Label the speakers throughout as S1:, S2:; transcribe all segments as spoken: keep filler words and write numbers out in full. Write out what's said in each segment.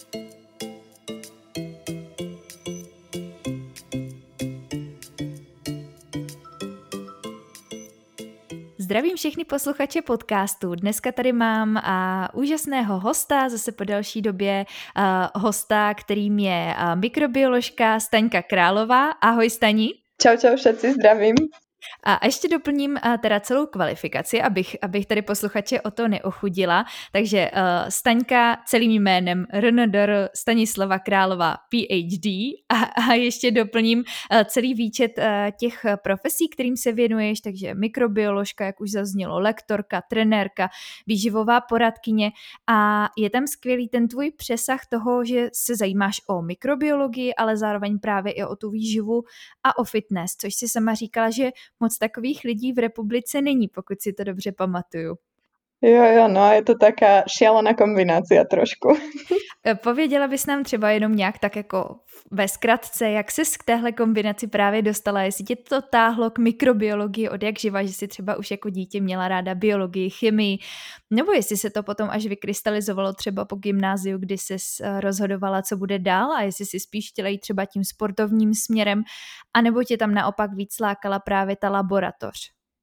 S1: Zdravím všechny posluchače podcastu. Dneska tady mám a, úžasného hosta, zase po delší době a, hosta, kterým je a, mikrobioložka Staňka Králová. Ahoj Stani.
S2: Čau, čau všetci, zdravím.
S1: A ještě doplním a, teda celou kvalifikaci, abych, abych tady posluchače o to neochudila. Takže uh, Staňka celým jménem R N D R Stanislava Králová P H D a, a ještě doplním uh, celý výčet uh, těch profesí, kterým se věnuješ, takže mikrobioložka, jak už zaznělo, lektorka, trenérka, výživová poradkyně a je tam skvělý ten tvůj přesah toho, že se zajímáš o mikrobiologii, ale zároveň právě i o tu výživu a o fitness, což si sama říkala, že moc takových lidí v republice není, pokud si to dobře pamatuju.
S2: Jo, jo, no je to taká šialená kombinácia trošku.
S1: Pověděla bys nám třeba jenom nějak tak jako ve zkratce, jak ses k téhle kombinaci právě dostala, jestli tě to táhlo k mikrobiologii od jak živa, že jsi třeba už jako dítě měla ráda biologii, chemii, nebo jestli se to potom až vykrystalizovalo třeba po gymnáziu, kdy ses rozhodovala, co bude dál a jestli si spíš chtěla jít třeba tím sportovním směrem, anebo tě tam naopak víc lákala právě ta laboratoř.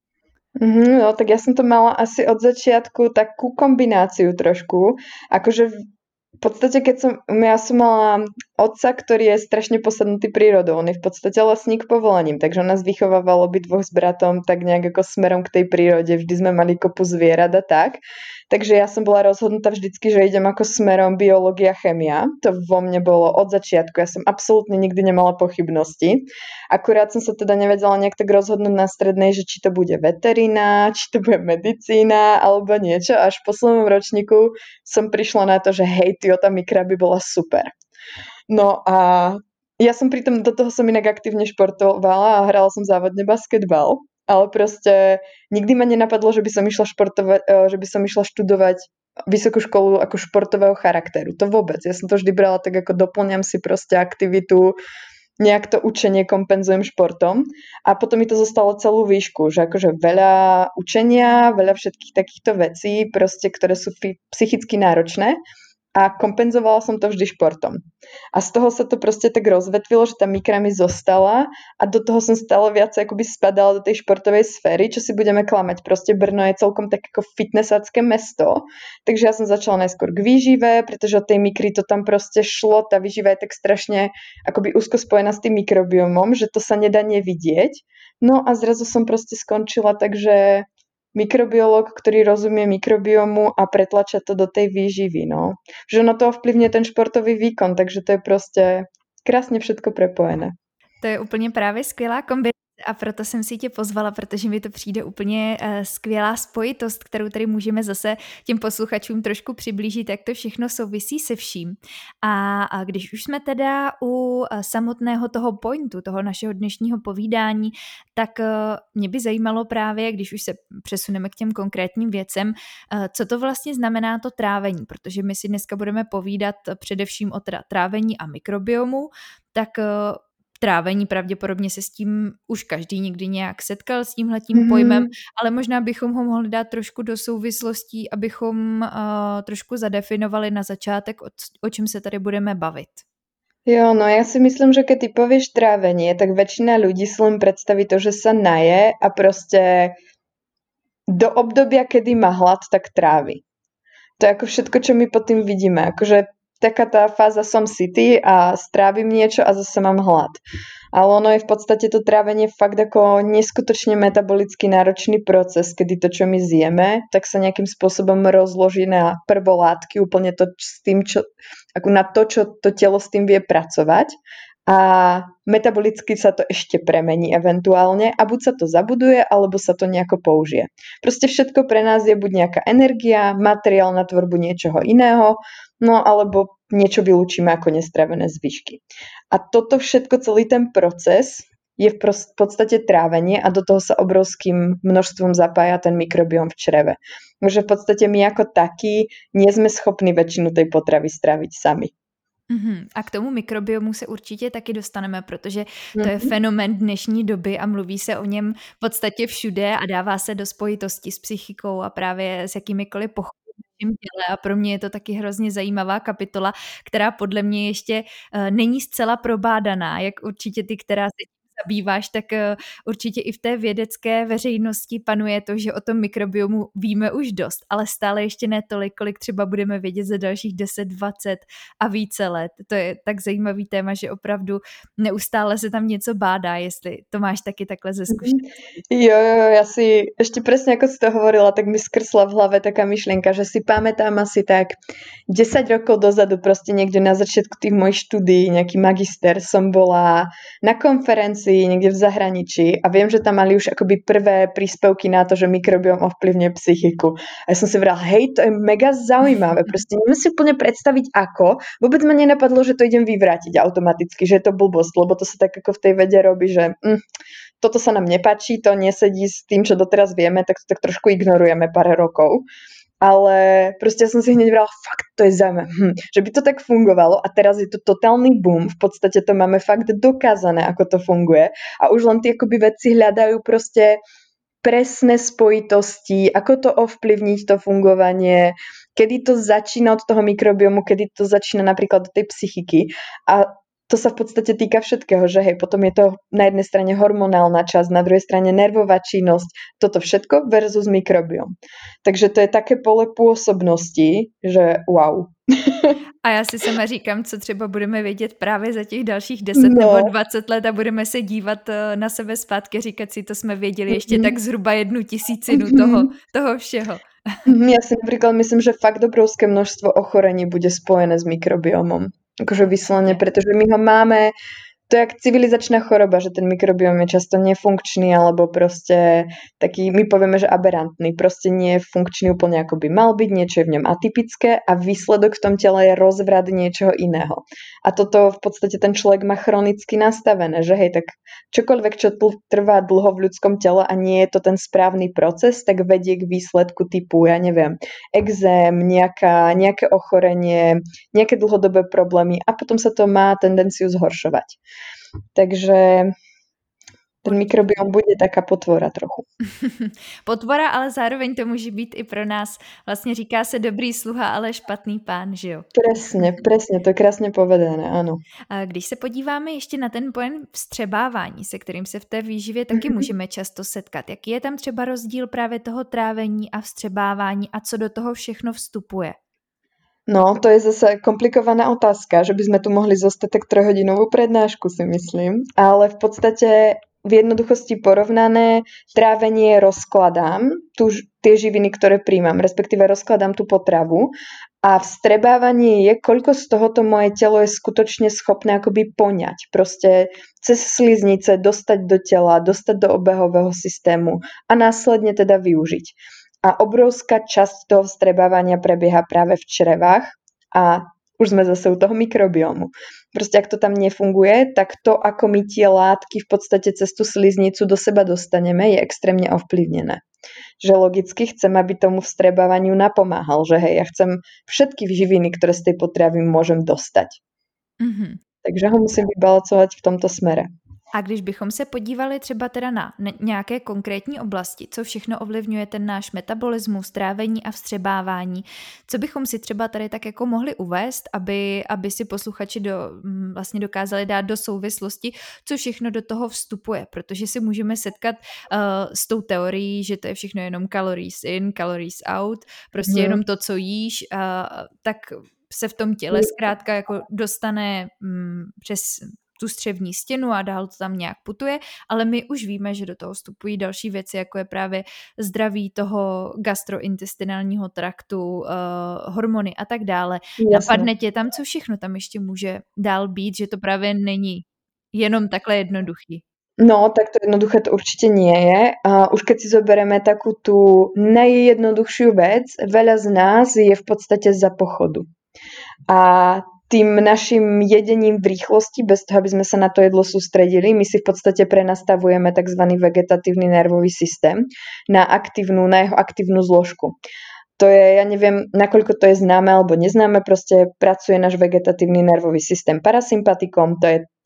S2: Mm, no tak ja som to mala asi od začiatku takú kombináciu trošku, akože v podstate keď som, ja som mala otca, ktorý je strašne posadnutý prírodou, on je v podstate lesník povolaním, takže on nás vychovával obidvoch s bratom tak nejak ako smerom k tej prírode, vždy sme mali kopu zvierat a tak, takže ja som bola rozhodnutá vždycky, že idem ako smerom biológia, chémia, to vo mne bolo od začiatku, ja som absolútne nikdy nemala pochybnosti, akurát som sa teda nevedela nejak tak rozhodnúť na strednej, že či to bude veterina, či to bude medicína alebo niečo, až v poslednom ročníku som prišla na to, že hej, tyjo, tá mikra by bola super. No a ja som pritom, do toho som inak aktívne športovala a hrala som závodne basketbal, ale proste nikdy ma nenapadlo, že by som išla športovať, že by som išla študovať vysokú školu ako športového charakteru. To vôbec. Ja som to vždy brala tak, ako doplňam si proste aktivitu, nejak to učenie kompenzujem športom a potom mi to zostalo celú výšku, že akože veľa učenia, veľa všetkých takýchto vecí, proste, ktoré sú f- psychicky náročné a kompenzovala som to vždy športom. A z toho sa to proste tak rozvetvilo, že tá mikra mi zostala a do toho som stále viac akoby spadala do tej športovej sféry, čo si budeme klamať. Proste Brno je celkom tak ako fitnessácké mesto, takže ja som začala najskôr k výžive, pretože od tej mikry to tam proste šlo, tá výživa je tak strašne akoby úzko spojená s tým mikrobiomom, že to sa nedá nevidieť. No a zrazu som proste skončila, takže mikrobiológ, ktorý rozumie mikrobiomu a pretlača to do tej výživy, no. Že ono to ovplyvňuje ten športový výkon, takže to je proste krásne všetko prepojené.
S1: To je úplně právě skvělá kombinace a proto jsem si tě pozvala, protože mi to přijde úplně uh, skvělá spojitost, kterou tady můžeme zase těm posluchačům trošku přiblížit, jak to všechno souvisí se vším. A, a když už jsme teda u uh, samotného toho pointu, toho našeho dnešního povídání, tak uh, mě by zajímalo právě, když už se přesuneme k těm konkrétním věcem, uh, co to vlastně znamená to trávení, protože my si dneska budeme povídat především o teda trávení a mikrobiomu, tak uh, trávení, pravděpodobně se s tím už každý někdy nějak setkal s tímhletím mm-hmm. pojmem, ale možná bychom ho mohli dát trošku do souvislostí, abychom uh, trošku zadefinovali na začátek, o, o čem se tady budeme bavit.
S2: Jo, no ja si myslím, že keď ty povieš trávenie, tak väčšina ľudí si len predstaví to, že sa naje a proste do obdobia, kedy má hlad, tak trávi. To je ako všetko, čo my pod tým vidíme. Akože taká tá fáza som sytý a strávim niečo a zase mám hlad. Ale ono je v podstate to trávenie fakt ako neskutočne metabolicky náročný proces, kedy to, čo my zjeme, tak sa nejakým spôsobom rozloží na prvolátky, úplne to s tým, čo, ako na to, čo to telo s tým vie pracovať. A metabolicky sa to ešte premení eventuálne a buď sa to zabuduje, alebo sa to nejako použije. Proste všetko pre nás je buď nejaká energia, materiál na tvorbu niečoho iného, no alebo niečo vylúčime ako nestravené zvyšky. A toto všetko, celý ten proces je v podstate trávenie a do toho sa obrovským množstvom zapája ten mikrobióm v čreve. Takže v podstate my ako takí nie sme schopní väčšinu tej potravy stráviť sami.
S1: Uhum. A k tomu mikrobiomu se určitě taky dostaneme, protože to je fenomén dnešní doby a mluví se o něm v podstatě všude a dává se do spojitosti s psychikou a právě s jakýmikoliv pochopami našem těle a pro mě je to taky hrozně zajímavá kapitola, která podle mě ještě uh, není zcela probádaná, jak určitě ty, která se tím zabýváš, tak uh, určitě i v té vědecké veřejnosti panuje to, že o tom mikrobiomu víme už dost, ale stále ještě ne tolik, kolik třeba budeme vědět za dalších deset, dvacet a více let. To je tak zajímavý téma, že opravdu neustále se tam něco bádá, jestli to máš taky takhle ze zkušenosti.
S2: Jo, jo, jo, ja si ešte presne ako si to hovorila, tak mi skrsla v hlave taká myšlienka, že si pamätám asi tak desať rokov dozadu, proste niekde na začiatku tých mojich štúdií, nejaký magister, som bola na konferencii niekde v zahraničí a viem, že tam mali už akoby prvé príspevky na to, že mikrobióm ovplyvňuje psychiku. A ja som si vrala, hej, to je mega zaujímavé, proste neviem si úplne predstaviť ako, vôbec ma nenapadlo, že to idem vyvrátiť automaticky, že je to blbosť, lebo to sa tak ako v tej vede robí, že mm, toto sa nám nepáči, to nesedí s tým, čo doteraz vieme, tak to tak trošku ignorujeme pár rokov. Ale proste ja som si hneď vrala, fakt, to je zaujímavé, hm, že by to tak fungovalo a teraz je to totálny boom, v podstate to máme fakt dokázané, ako to funguje a už len tie akoby vedci hľadajú proste presné spojitosti, ako to ovplyvniť to fungovanie, kedy to začína od toho mikrobiomu, kedy to začína napríklad od tej psychiky a to sa v podstate týka všetkého, že hej, potom je to na jednej strane hormonálna časť, na druhej strane nervová činnosť, toto všetko versus mikrobiom. Takže to je také pole pôsobnosti, že wow.
S1: A já si sama říkám, co třeba budeme vědět právě za těch dalších deset no. nebo dvacet let a budeme se dívat na sebe zpátky a říkat si, to jsme věděli ještě mm-hmm. tak zhruba jednu tisícinu mm-hmm. toho, toho všeho.
S2: Ja si napríklad myslím, že fakt obrovské množstvo ochorení bude spojené s mikrobiomom. Akože vyslovene, pretože my ho máme, to je jak civilizačná choroba, že ten mikrobióm je často nefunkčný alebo proste taký, my povieme, že aberantný, proste nie je funkčný úplne ako by mal byť, niečo je v ňom atypické a výsledok v tom tele je rozvrat niečoho iného. A toto v podstate ten človek má chronicky nastavené, že hej, tak čokoľvek, čo trvá dlho v ľudskom tele a nie je to ten správny proces, tak vedie k výsledku typu, ja neviem, exém, nejaká, nejaké ochorenie, nejaké dlhodobé problémy a potom sa to má tendenciu zhoršovať. Takže ten mikrobiom bude taká potvora trochu.
S1: Potvora, ale zároveň to může být i pro nás, vlastně říká se dobrý sluha, ale špatný pán, že jo?
S2: Presne, presne, to je krásne povedané, áno.
S1: A když se podíváme ještě na ten pojem vstřebávání, se kterým se v té výživě taky mm-hmm. můžeme často setkat, jaký je tam třeba rozdíl právě toho trávení a vstřebávání a co do toho všechno vstupuje?
S2: No, to je zase komplikovaná otázka, že by sme tu mohli zostať tak trojhodinovú prednášku, si myslím. Ale v podstate v jednoduchosti porovnané trávenie rozkladám tu, tie živiny, ktoré príjmam, respektíve rozkladám tú potravu a vstrebávanie je, koľko z tohoto moje telo je skutočne schopné akoby poňať. Proste cez sliznice dostať do tela, dostať do obehového systému a následne teda využiť. A obrovská časť toho vstrebávania prebieha práve v črevách a už sme zase u toho mikrobiomu. Proste ak to tam nefunguje, tak to, ako my tie látky v podstate cez tú sliznicu do seba dostaneme, je extrémne ovplyvnené. Že logicky chcem, aby tomu vstrebávaniu napomáhal, že hej, ja chcem všetky živiny, ktoré z tej potravy môžem dostať. Mm-hmm. Takže ho musím vybalancovať v tomto smere.
S1: A když bychom se podívali třeba teda na nějaké konkrétní oblasti, co všechno ovlivňuje ten náš metabolismus, trávení a vstřebávání, co bychom si třeba tady tak jako mohli uvést, aby, aby si posluchači do, vlastně dokázali dát do souvislosti, co všechno do toho vstupuje, protože si můžeme setkat uh, s tou teorií, že to je všechno jenom calories in, calories out, prostě hmm. jenom to, co jíš, uh, tak se v tom těle zkrátka jako dostane um, přes tu střevní stěnu a dál to tam nějak putuje, ale my už víme, že do toho vstupují další věci, jako je právě zdraví toho gastrointestinálního traktu, uh, hormony a tak dále. Jasne. Napadne tě tam, co všechno tam ještě může dál být, že to právě není jenom takhle jednoduchý.
S2: No, tak to jednoduché to určite nie je. A už keď si zoberieme takú tú najjednoduchšiu vec, veľa z nás je v podstate za pochodu. A tým našim jedením v rýchlosti, bez toho, aby sme sa na to jedlo sústredili, my si v podstate prenastavujeme tzv. Vegetatívny nervový systém na aktívnu, na jeho aktívnu zložku. To je, ja neviem, nakoľko to je známe alebo neznáme, proste pracuje náš vegetatívny nervový systém parasympatikom, to je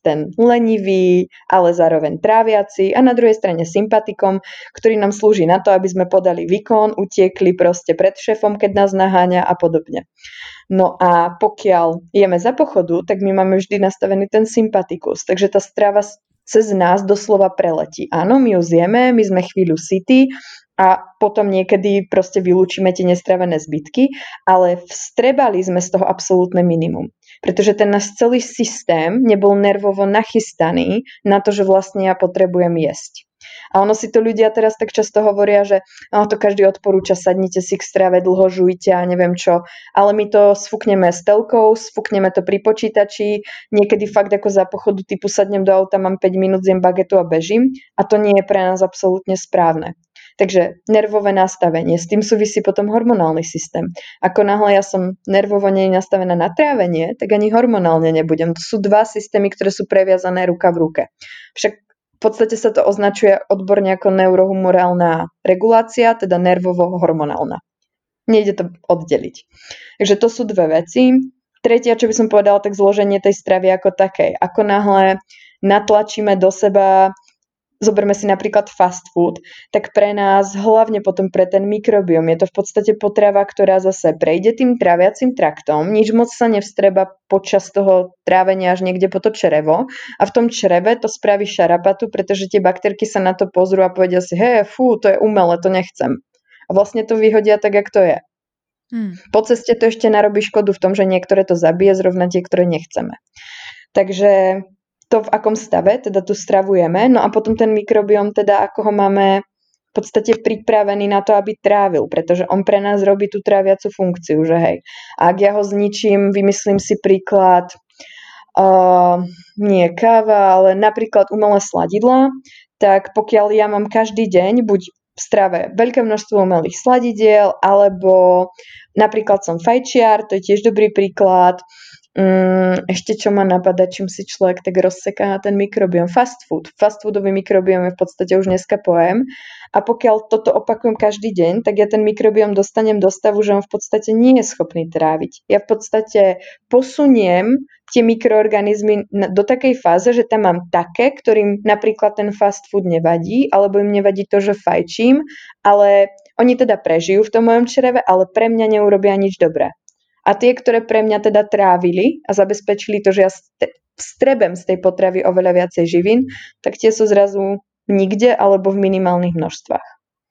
S2: ten lenivý, ale zároveň tráviaci a na druhej strane sympatikom, ktorý nám slúži na to, aby sme podali výkon, utiekli proste pred šéfom, keď nás naháňa a podobne. No a pokiaľ jeme za pochodu, tak my máme vždy nastavený ten sympatikus, takže tá strava cez nás doslova preletí. Áno, my ju zjeme, my sme chvíľu sytí a potom niekedy proste vylúčime tie nestravené zbytky, ale vstrebali sme z toho absolútne minimum. Pretože ten náš celý systém nebol nervovo nachystaný na to, že vlastne ja potrebujem jesť. A ono si to ľudia teraz tak často hovoria, že no, to každý odporúča, sadnite si k strave, dlho žujte a neviem čo, ale my to sfúkneme s telkou, sfúkneme to pri počítači, niekedy fakt ako za pochodu typu sadnem do auta, mám päť minút, zjem bagetu a bežím a to nie je pre nás absolútne správne. Takže nervové nastavenie, s tým súvisí potom hormonálny systém. Ako náhle ja som nervovo nie nastavená na trávenie, tak ani hormonálne nebudem. To sú dva systémy, ktoré sú previazané ruka v ruke. Však v podstate sa to označuje odborne ako neurohumorálna regulácia, teda nervovo-hormonálna. Nejde to oddeliť. Takže to sú dve veci. Tretia, čo by som povedala, tak zloženie tej stravy ako takej. Ako náhle natlačíme do seba, zoberme si napríklad fast food, tak pre nás, hlavne potom pre ten mikrobióm, je to v podstate potrava, ktorá zase prejde tým tráviacim traktom, nič moc sa nevstreba počas toho trávenia až niekde po to črevo a v tom čreve to spraví šarapatu, pretože tie baktérky sa na to pozrú a povedia si, hej, fú, to je umelé, to nechcem. A vlastne to vyhodia tak, jak to je. Hmm. Po ceste to ešte narobí škodu v tom, že niektoré to zabije, zrovna tie, ktoré nechceme. Takže to, v akom stave teda tu stravujeme, no a potom ten mikrobióm, teda ako ho máme v podstate pripravený na to, aby trávil, pretože on pre nás robí tú tráviacu funkciu, že hej. A ak ja ho zničím, vymyslím si príklad, uh, nie káva, ale napríklad umelé sladidlá, tak pokiaľ ja mám každý deň buď v strave veľké množstvo umelých sladidiel, alebo napríklad som fajčiar, to je tiež dobrý príklad. Um, ešte čo ma napadá, čím si človek tak rozseká ten mikrobióm. Fast food. Fast foodový mikrobióm je v podstate už dneska pojem. A pokiaľ toto opakujem každý deň, tak ja ten mikrobióm dostanem do stavu, že on v podstate nie je schopný tráviť. Ja v podstate posuniem tie mikroorganizmy do takej fáze, že tam mám také, ktorým napríklad ten fast food nevadí, alebo im nevadí to, že fajčím, ale oni teda prežijú v tom mojom čreve, ale pre mňa neurobia nič dobré. A tie, ktoré pre mňa teda trávili a zabezpečili to, že ja strebem z tej potravy oveľa viacej živín, tak tie sú zrazu nikde alebo v minimálnych množstvách.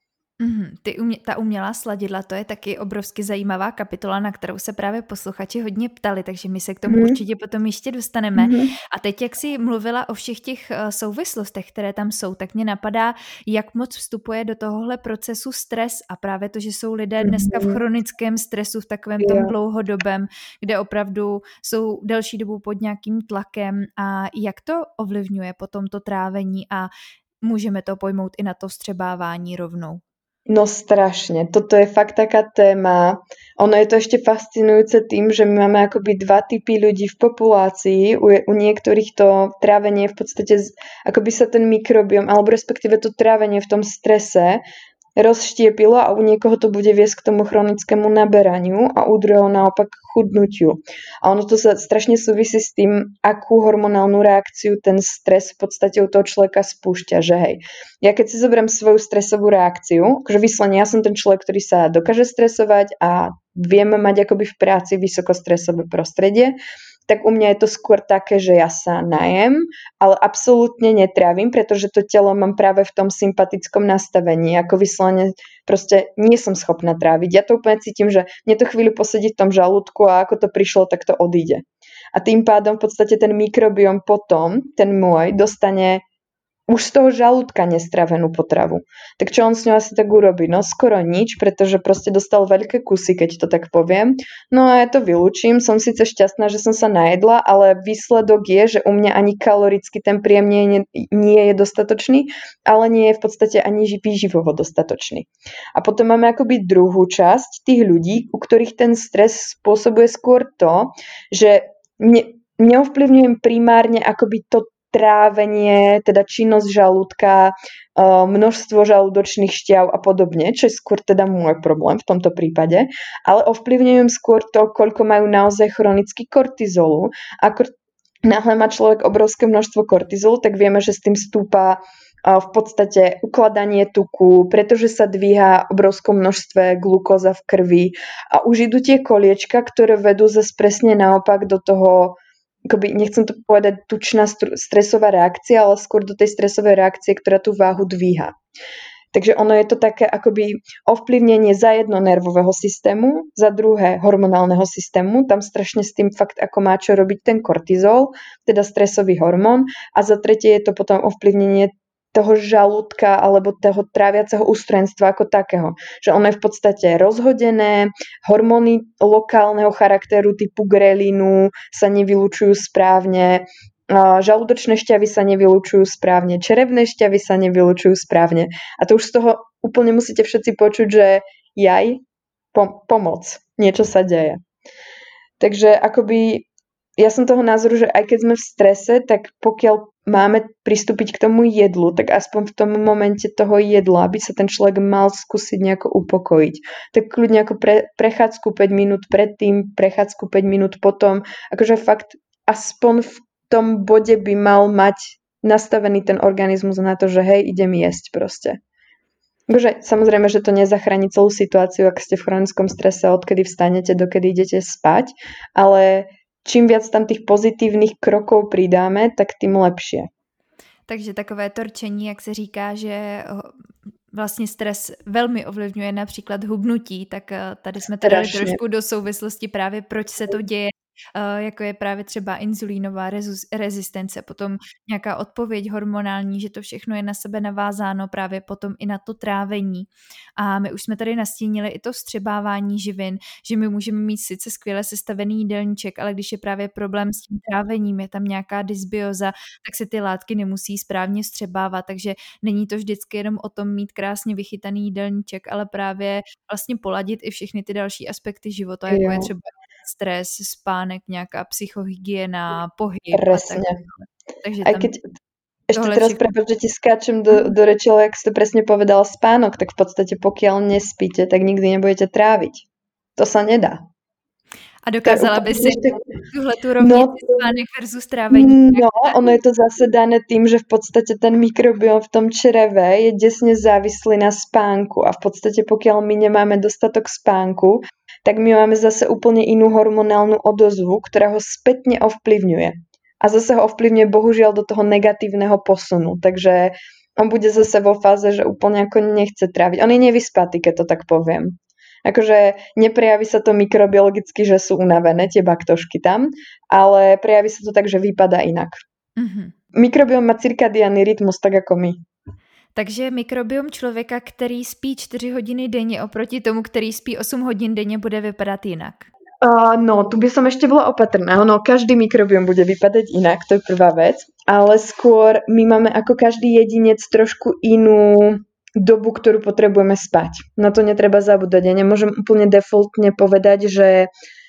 S1: Mm, ty umě, ta umělá sladidla, to je taky obrovsky zajímavá kapitola, na kterou se právě posluchači hodně ptali, takže my se k tomu mm. určitě potom ještě dostaneme. Mm. A teď, jak jsi mluvila o všech těch uh, souvislostech, které tam jsou, tak mě napadá, jak moc vstupuje do tohohle procesu stres a právě to, že jsou lidé dneska v chronickém stresu, v takovém tom yeah. dlouhodobém, kde opravdu jsou delší dobu pod nějakým tlakem a jak to ovlivňuje potom to trávení a můžeme to pojmout i na to vstřebávání rovnou.
S2: No strašne. Toto je fakt taká téma. Ono je to ešte fascinujúce tým, že my máme akoby dva typy ľudí v populácii. U, u niektorých to trávenie v podstate, akoby sa ten mikrobióm, alebo respektíve to trávenie v tom strese rozštiepilo a u niekoho to bude viesť k tomu chronickému naberaniu a u druhého naopak chudnutiu. A ono to sa strašne súvisí s tým, akú hormonálnu reakciu ten stres v podstate u toho človeka spúšťa, že hej. Ja keď si zoberiem svoju stresovú reakciu, akože vyslovene ja som ten človek, ktorý sa dokáže stresovať a vieme mať akoby v práci vysokostresové prostredie, tak u mňa je to skôr také, že ja sa najem, ale absolútne netrávim, pretože to telo mám práve v tom sympatickom nastavení, ako vyslovene proste nie som schopná tráviť. Ja to úplne cítim, že mne to chvíľu posedí v tom žalúdku a ako to prišlo, tak to odíde. A tým pádom v podstate ten mikrobióm potom, ten môj, dostane už z toho žalúdka nestravenú potravu. Tak čo on s ňou asi tak urobí? No skoro nič, pretože proste dostal veľké kusy, keď to tak poviem. No a ja to vylúčim, som síce šťastná, že som sa najedla, ale výsledok je, že u mňa ani kaloricky ten príjem nie, nie je dostatočný, ale nie je v podstate ani výživovo dostatočný. A potom máme akoby druhú časť tých ľudí, u ktorých ten stres spôsobuje skôr to, že ne, neovplyvňujem primárne akoby to trávenie, teda činnosť žalúdka, množstvo žalúdočných šťav a podobne, čo je skôr teda môj problém v tomto prípade, ale ovplyvňujem skôr to, koľko majú naozaj chronický kortizolu a náhle má človek obrovské množstvo kortizolu, tak vieme, že s tým stúpa v podstate ukladanie tuku, pretože sa dvíha obrovskom množstve glukóza v krvi a už idú tie koliečka, ktoré vedú zase presne naopak do toho, akoby, nechcem to povedať tučná stresová reakcia, ale skôr do tej stresovej reakcie, ktorá tú váhu dvíha. Takže ono je to také akoby ovplyvnenie za jedno nervového systému, za druhé hormonálneho systému, tam strašne s tým fakt ako má čo robiť ten kortizol, teda stresový hormón, a za tretie je to potom ovplyvnenie toho žalúdka alebo toho tráviaceho ústrojenstva ako takého. Že ono je v podstate rozhodené, hormóny lokálneho charakteru typu grelínu sa nevylučujú správne, žalúdočné šťavy sa nevylučujú správne, črevné šťavy sa nevylučujú správne. A to už z toho úplne musíte všetci počuť, že jaj, pom- pomoc, niečo sa deje. Takže akoby ja som toho názoru, že aj keď sme v strese, tak pokiaľ máme pristúpiť k tomu jedlu, tak aspoň v tom momente toho jedla, aby sa ten človek mal skúsiť nejako upokojiť. Tak kľudne ako pre, prechádzku päť minút predtým, prechádzku päť minút potom, akože fakt aspoň v tom bode by mal mať nastavený ten organizmus na to, že hej, idem jesť proste. Takže samozrejme, že to nezachráni celú situáciu, ak ste v chronickom strese, odkedy vstanete, dokedy idete spať, ale čím viac tam tých pozitívnych krokov pridáme, tak tým lepšie.
S1: Takže takové to rčení, jak se říká, že vlastně stres velmi ovlivňuje například hubnutí, tak tady jsme to dali trošku do souvislosti právě, proč se to děje, jako je právě třeba inzulínová rezistence, potom nějaká odpověď hormonální, že to všechno je na sebe navázáno právě potom i na to trávení. A my už jsme tady nastínili i to vstřebávání živin, že my můžeme mít sice skvěle sestavený jídelníček, ale když je právě problém s tím trávením, je tam nějaká dysbioza, tak se ty látky nemusí správně vstřebávat, takže není to vždycky jenom o tom mít krásně vychytaný jídelníček, ale právě vlastně poladit i všechny ty další aspekty života, jako je třeba stres, spánek, nějaká psychohygiena, pohyb.
S2: Presne.
S1: A tak. Takže
S2: Aj
S1: tam
S2: keď ešte teraz
S1: všechno...
S2: prepáč, že ti skáčem do, do reči, ale ak si to presne povedala, spánok, tak v podstate pokiaľ nespíte, tak nikdy nebudete tráviť. To sa nedá.
S1: A dokázala by si tuhletu rovnici no, spánek versus trávení?
S2: No, ono je to zase dané tým, že v podstate ten mikrobióm v tom čreve je desne závislý na spánku a v podstate pokiaľ my nemáme dostatok spánku, tak my máme zase úplne inú hormonálnu odozvu, ktorá ho spätne ovplyvňuje. A zase ho ovplyvňuje bohužiaľ do toho negatívneho posunu. Takže on bude zase vo fáze, že úplne ako nechce tráviť. On je nevyspatý, keď to tak poviem. Akože neprejaví sa to mikrobiologicky, že sú unavené tie baktošky tam, ale prejaví sa to tak, že vypadá inak. Mm-hmm. Mikrobióm má cirkadiánny rytmus, tak ako my.
S1: Takže mikrobiom člověka, který spí čtyři hodiny denně oproti tomu, který spí osm hodin denně, bude vypadat jinak.
S2: Uh, no, tu by som ešte bola opatrná. No, každý mikrobiom bude vypadať inak, to je prvá vec. Ale skôr my máme ako každý jedinec trošku inú dobu, ktorú potrebujeme spať. Na to netreba zabúdať. Ja nemôžem úplne defaultne povedať, že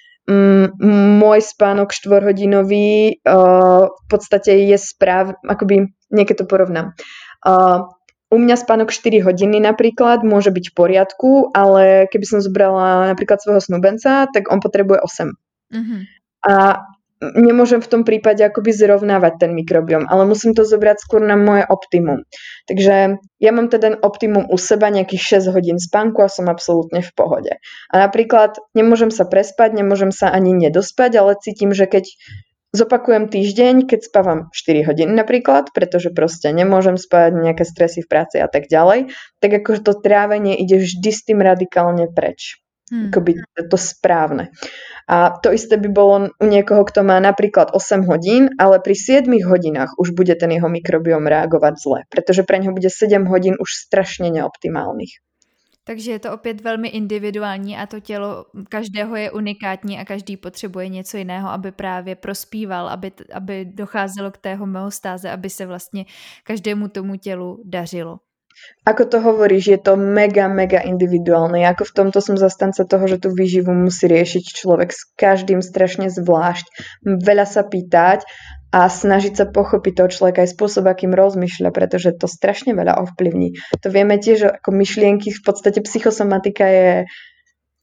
S2: um, môj spánok štvorhodinový uh, v podstate je správ, akoby niekedy to porovnám. Uh, U mňa spánok štyri hodiny napríklad môže byť v poriadku, ale keby som zobrala napríklad svojho snúbenca, tak on potrebuje osem. Mm-hmm. A nemôžem v tom prípade akoby zrovnávať ten mikrobióm, ale musím to zobrať skôr na moje optimum. Takže ja mám teda optimum u seba nejakých šesť hodín spánku a som absolútne v pohode. A napríklad nemôžem sa prespať, nemôžem sa ani nedospať, ale cítim, že keď zopakujem týždeň, keď spávam štyri hodiny napríklad, pretože proste nemôžem spať, nejaké stresy v práci a tak ďalej, tak akože to trávenie ide vždy s tým radikálne preč. Hmm. Akoby to správne. A to isté by bolo u niekoho, kto má napríklad osem hodín, ale pri siedmich hodinách už bude ten jeho mikrobióm reagovať zle, pretože pre neho bude sedem hodín už strašne neoptimálnych.
S1: Takže je to opět velmi individuální a to tělo každého je unikátní a každý potřebuje něco jiného, aby právě prospíval, aby, aby docházelo k té homeostáze, aby se vlastně každému tomu tělu dařilo.
S2: Ako to hovoríš, je to mega, mega individuálne. Ako v tomto som zastanca toho, že tú výživu musí riešiť človek s každým strašne zvlášť. Veľa sa pýtať a snažiť sa pochopiť toho človeka aj spôsob, akým rozmýšľa, pretože to strašne veľa ovplyvní. To vieme tiež, že ako myšlienky, v podstate psychosomatika je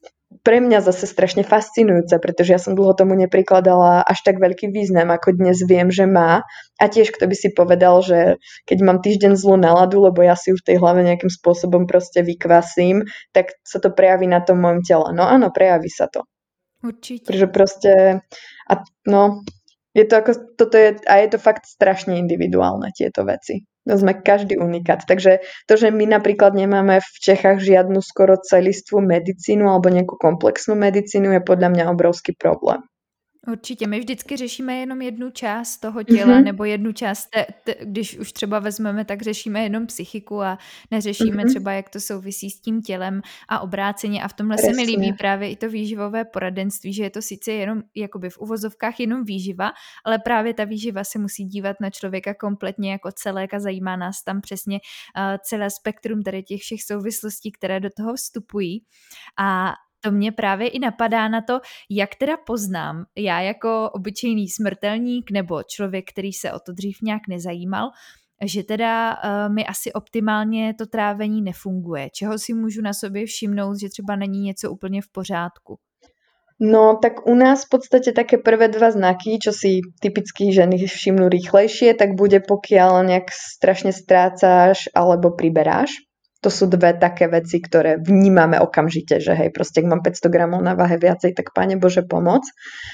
S2: pre mňa zase strašne fascinujúce, pretože ja som dlho tomu neprikladala až tak veľký význam, ako dnes viem, že má. A tiež kto by si povedal, že keď mám týždeň zlú náladu, lebo ja si ju v tej hlave nejakým spôsobom proste vykvasím, tak sa to prejaví na tom mojom tele. No áno, prejaví sa to.
S1: Určite.
S2: Pretože proste, a no, je to ako, toto je, a je to fakt strašne individuálne, tieto veci. To sme každý unikát. Takže to, že my napríklad nemáme v Čechách žiadnu skoro celistvú medicínu alebo nejakú komplexnú medicínu, je podľa mňa obrovský problém.
S1: Určitě, my vždycky řešíme jenom jednu část toho těla, mm-hmm. nebo jednu část, te, te, když už třeba vezmeme, tak řešíme jenom psychiku a neřešíme mm-hmm. třeba, jak to souvisí s tím tělem a obráceně. A v tomhle Presne. Se mi líbí právě i to výživové poradenství, že je to sice jenom jakoby v uvozovkách jenom výživa, ale právě ta výživa se musí dívat na člověka kompletně jako celek a zajímá nás tam přesně uh, celé spektrum tady těch všech souvislostí, které do toho vstupují. A to mě právě i napadá na to, jak teda poznám, já jako obyčejný smrtelník nebo člověk, který se o to dřív nějak nezajímal, že teda uh, mi asi optimálně to trávení nefunguje. Čeho si můžu na sobě všimnout, že třeba není něco úplně v pořádku?
S2: No, tak u nás v podstate také prvé dva znaky, čo si typicky ženy všimnú rýchlejšie, tak bude pokiaľ nejak strašne strácaš alebo priberáš. To sú dve také veci, ktoré vnímame okamžite, že hej, proste ak mám päťsto gramov na váhe viacej, tak Pane Bože pomoc.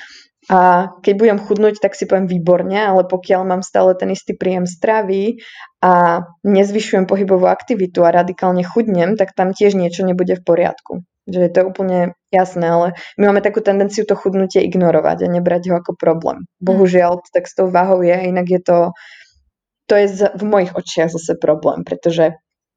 S2: A keď budem chudnúť, tak si poviem výborne, ale pokiaľ mám stále ten istý príjem stravy a nezvyšujem pohybovú aktivitu a radikálne chudnem, tak tam tiež niečo nebude v poriadku. Že to je úplne jasné, ale my máme takú tendenciu to chudnutie ignorovať a nebrať ho ako problém. Bohužiaľ, tak s tou váhou je, inak je to, to je v mojich očiach zase problém, pretože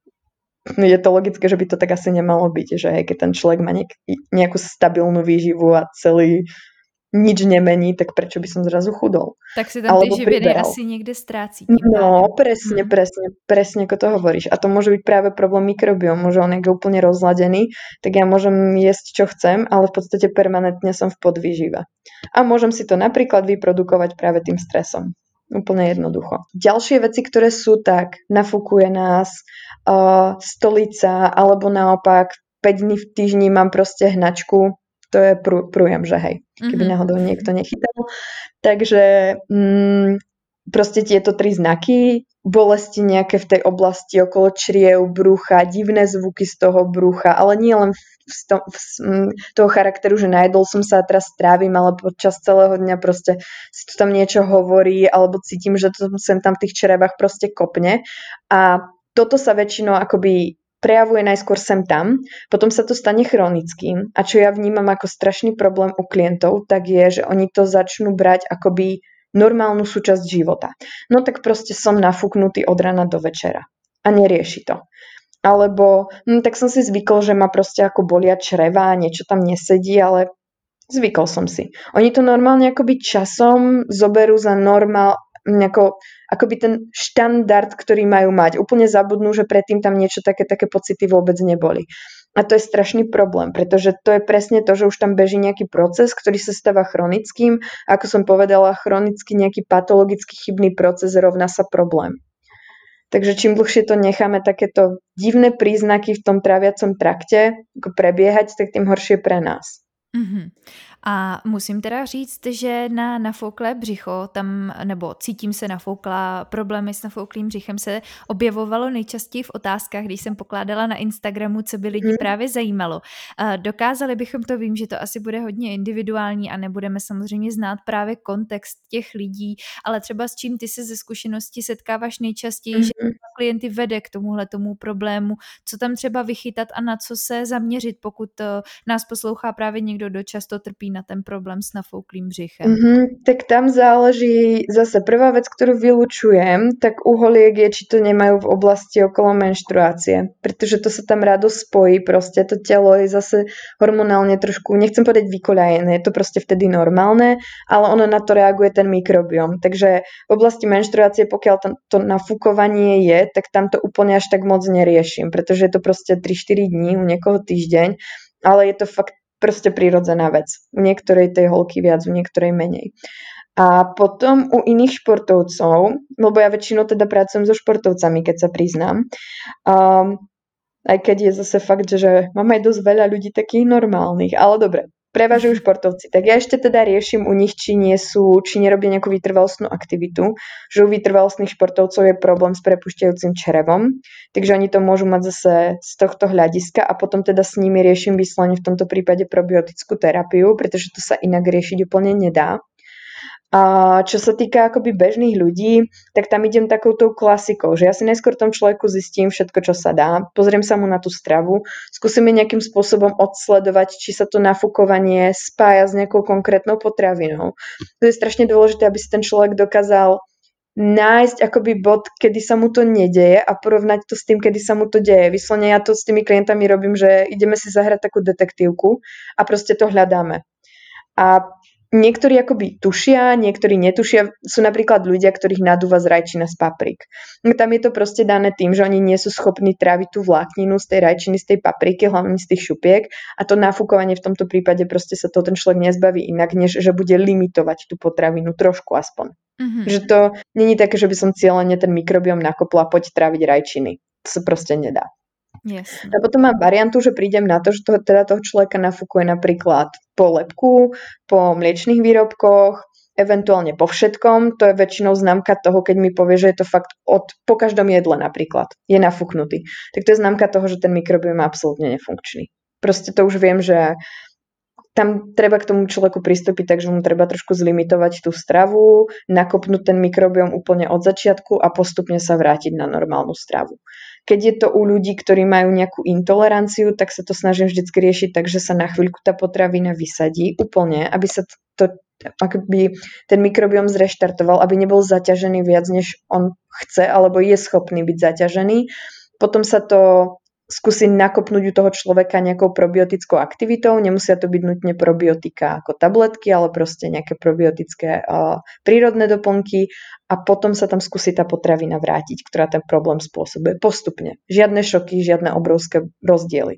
S2: je to logické, že by to tak asi nemalo byť, že hej, keď ten človek má nejak, nejakú stabilnú výživu a celý nič nemení, tak prečo by som zrazu chudol?
S1: Tak si tam tie živiny asi niekde strácí.
S2: No, presne, hmm. presne, presne ako to hovoríš. A to môže byť práve problém mikrobiom, môže on je úplne rozladený, tak ja môžem jesť, čo chcem, ale v podstate permanentne som v podvýžive. A môžem si to napríklad vyprodukovať práve tým stresom. Úplne jednoducho. Ďalšie veci, ktoré sú, tak nafúkuje nás uh, stolica, alebo naopak päť dní v týždni mám proste hnačku, to je prú, prújem, že hej, keby náhodou niekto nechytal. Takže mm, proste tieto tri znaky, bolesti nejaké v tej oblasti okolo čriev, brucha, divné zvuky z toho brucha, ale nie len v, v, v, toho charakteru, že najedol som sa a teraz strávim, ale počas celého dňa proste si to tam niečo hovorí, alebo cítim, že to sem tam v tých črevách proste kopne. A toto sa väčšinou akoby prejavuje najskôr sem tam, potom sa to stane chronickým. A čo ja vnímam ako strašný problém u klientov, tak je, že oni to začnú brať akoby normálnu súčasť života. No tak proste som nafúknutý od rana do večera. A nerieši to. Alebo hm, tak som si zvykol, že ma proste ako bolia čreva, niečo tam nesedí, ale zvykol som si. Oni to normálne akoby časom zoberú za normál, nejako, akoby ten štandard, ktorý majú mať. Úplne zabudnú, že predtým tam niečo také, také pocity vôbec neboli. A to je strašný problém, pretože to je presne to, že už tam beží nejaký proces, ktorý sa stáva chronickým. A ako som povedala, chronicky nejaký patologický chybný proces rovná sa problém. Takže čím dlhšie to necháme takéto divné príznaky v tom tráviacom trakte ako prebiehať, tak tým horšie pre nás.
S1: Mm-hmm. A musím teda říct, že na nafouklé břicho, tam, nebo cítím se nafoukla, problémy s nafouklým břichem se objevovalo nejčastěji v otázkách, když jsem pokládala na Instagramu, co by lidi hmm. právě zajímalo. Dokázali bychom to, vím, že to asi bude hodně individuální a nebudeme samozřejmě znát právě kontext těch lidí, ale třeba s čím ty se ze zkušenosti setkáváš nejčastěji, hmm. že klienty vede k tomuhle tomu problému, co tam třeba vychytat a na co se zaměřit, pokud nás poslouchá právě někdo, kdo často trpí na ten problém s nafouklým břichem?
S2: Mm-hmm, tak tam záleží zase prvá vec, ktorú vylučujem, tak u holiek je, či to nemajú v oblasti okolo menštruácie, pretože to sa tam rado spojí, proste to telo je zase hormonálne trošku, nechcem povedať vykoľajené, je to proste vtedy normálne, ale ono na to reaguje ten mikrobióm. Takže v oblasti menštruácie, pokiaľ tam to nafúkovanie je, tak tam to úplne až tak moc neriešim, pretože je to proste tri štyri dní, u niekoho týždeň, ale je to fakt proste prirodzená vec. U niektorej tej holky viac, u niektorej menej. A potom u iných športovcov, lebo ja väčšinou teda pracujem so športovcami, keď sa priznám, um, Aj keď je zase fakt, že máme aj dosť veľa ľudí takých normálnych, ale dobre, prevažujú športovci. Tak ja ešte teda riešim u nich, či nie sú, či nerobia nejakú vytrvalostnú aktivitu, že u vytrvalostných športovcov je problém s prepušťajúcim črevom, takže oni to môžu mať zase z tohto hľadiska a potom teda s nimi riešim vyslovene v tomto prípade probiotickú terapiu, pretože to sa inak riešiť úplne nedá. A čo sa týka akoby bežných ľudí, tak tam idem takouto klasikou, že ja si najskôr tom človeku zistím všetko, čo sa dá, pozriem sa mu na tú stravu, skúsime nejakým spôsobom odsledovať, či sa to nafúkovanie spája s nejakou konkrétnou potravinou. To je strašne dôležité, aby si ten človek dokázal nájsť akoby bod, kedy sa mu to nedeje a porovnať to s tým, kedy sa mu to deje. Vyslovene ja to s tými klientami robím, že ideme si zahrať takú detektívku a proste to hľadáme. A niektorí akoby tušia, niektorí netušia. Sú napríklad ľudia, ktorých nadúva z rajčina z paprik. Tam je to proste dané tým, že oni nie sú schopní tráviť tú vlákninu z tej rajčiny, z tej papriky, hlavne z tých šupiek. A to nafúkovanie v tomto prípade proste sa to ten človek nezbaví inak, než že bude limitovať tú potravinu trošku aspoň. Mm-hmm. Že to není také, že by som cieľene ten mikrobióm nakopla, poď tráviť rajčiny. To sa proste nedá.
S1: Yes.
S2: A potom mám variantu, že prídem na to, že to, teda toho človeka nafúkuje napríklad po lepku, po mliečných výrobkoch, eventuálne po všetkom. To je väčšinou známka toho, keď mi povie, že je to fakt od, po každom jedle napríklad je nafúknutý. Tak to je známka toho, že ten mikrobióm je absolútne nefunkčný. Proste to už viem, že tam treba k tomu človeku pristúpiť, takže mu treba trošku zlimitovať tú stravu, nakopnúť ten mikrobióm úplne od začiatku a postupne sa vrátiť na normálnu stravu. Keď je to u ľudí, ktorí majú nejakú intoleranciu, tak sa to snažím vždycky riešiť tak, že sa na chvíľku tá potravina vysadí úplne, aby sa to, akoby ten mikrobióm zreštartoval, aby nebol zaťažený viac, než on chce, alebo je schopný byť zaťažený. Potom sa to skúsi nakopnúť u toho človeka nejakou probiotickou aktivitou. Nemusia to byť nutne probiotika ako tabletky, ale proste nejaké probiotické uh, prírodné doplnky a potom sa tam skúsi tá potravina vrátiť, ktorá ten problém spôsobuje postupne. Žiadne šoky, žiadne obrovské rozdiely.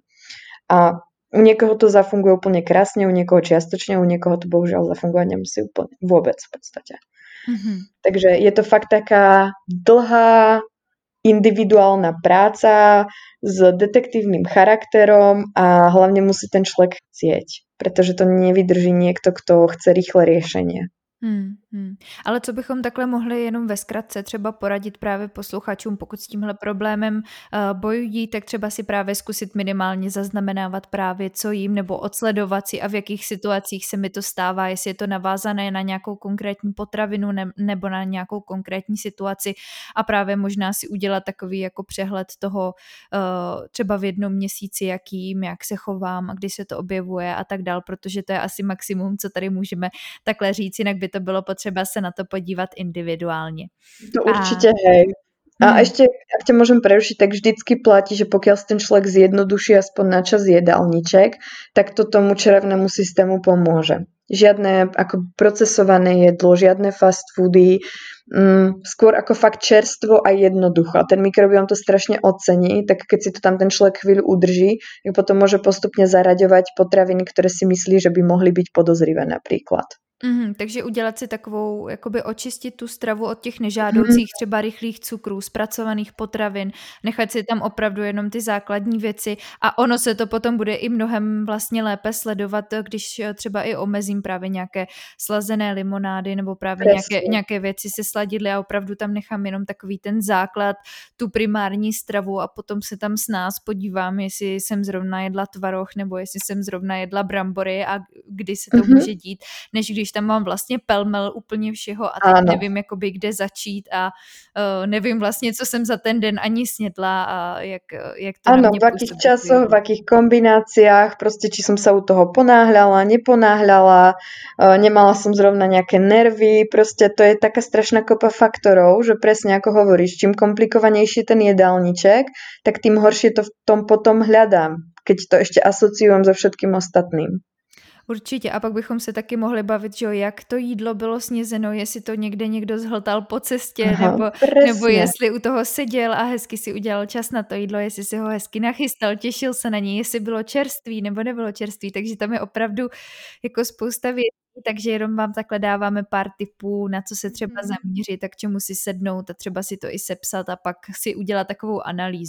S2: A u niekoho to zafunguje úplne krásne, u niekoho čiastočne, u niekoho to bohužiaľ zafungovať nemusí úplne vôbec v podstate. Mm-hmm. Takže je to fakt taká dlhá individuálna práca s detektívnym charakterom a hlavne musí ten človek chcieť, pretože to nevydrží niekto, kto chce rýchle riešenie.
S1: Hmm, hmm. Ale co bychom takhle mohli jenom ve zkratce třeba poradit právě posluchačům, pokud s tímhle problémem uh, bojují, tak třeba si právě zkusit minimálně zaznamenávat právě co jím, nebo odsledovat si a v jakých situacích se mi to stává, jestli je to navázané na nějakou konkrétní potravinu ne, nebo na nějakou konkrétní situaci a právě možná si udělat takový jako přehled toho uh, třeba v jednom měsíci, jakým, jak se chovám a kdy se to objevuje a tak dál, protože to je asi maximum, co tady můžeme takhle říct, jinak by to bylo potřeba se na to podívat individuálně.
S2: To určite, a... hej. A hmm. ešte, ak ťa môžem prerušiť, tak vždycky platí, že pokiaľ si ten človek zjednoduší aspoň na čas jedálniček, tak to tomu črevnému systému pomôže. Žiadne ako procesované jedlo, žiadne fast foody, mm, skôr ako fakt čerstvo a jednoducho. A ten mikrobióm to strašne ocení, tak keď si to tam ten človek chvíľu udrží, tak potom môže postupne zaraďovať potraviny, ktoré si myslí, že by mohli byť podozrivé napríklad.
S1: Mm, takže udělat si takovou, jakoby očistit tu stravu od těch nežádoucích, mm. třeba rychlých cukrů, zpracovaných potravin, nechat si tam opravdu jenom ty základní věci a ono se to potom bude i mnohem vlastně lépe sledovat, když třeba i omezím právě nějaké slazené limonády nebo právě nějaké, nějaké věci se sladidly a opravdu tam nechám jenom takový ten základ, tu primární stravu a potom se tam s nás podívám, jestli jsem zrovna jedla tvaroh nebo jestli jsem zrovna jedla brambory a kdy se to mm-hmm. může dít, než když tam mám vlastně pelmel úplně všeho a teď ano. nevím, jakoby, kde začít a uh, nevím vlastně, co jsem za ten den ani snědla a jak, jak to
S2: ano,
S1: na mě
S2: v akých časoch, v akých kombináciách, proste či som sa u toho ponáhľala, neponáhľala, uh, nemala som zrovna nejaké nervy, proste to je taká strašná kopa faktorov, že presne ako hovoríš, čím komplikovanejší ten jedálniček, tak tým horšie to v tom potom hľadám, keď to ešte asociujem so všetkým ostatným.
S1: Určitě. A pak bychom se taky mohli bavit, že jo, jak to jídlo bylo snězeno, jestli to někde někdo zhltal po cestě, Aha, nebo, nebo jestli u toho seděl a hezky si udělal čas na to jídlo, jestli si ho hezky nachystal, těšil se na něj, jestli bylo čerstvý nebo nebylo čerstvý. Takže tam je opravdu jako spousta věcí, takže jenom vám takhle dáváme pár tipů, na co se třeba zaměřit a k čemu si sednout a třeba si to i sepsat a pak si udělat takovou analýzu.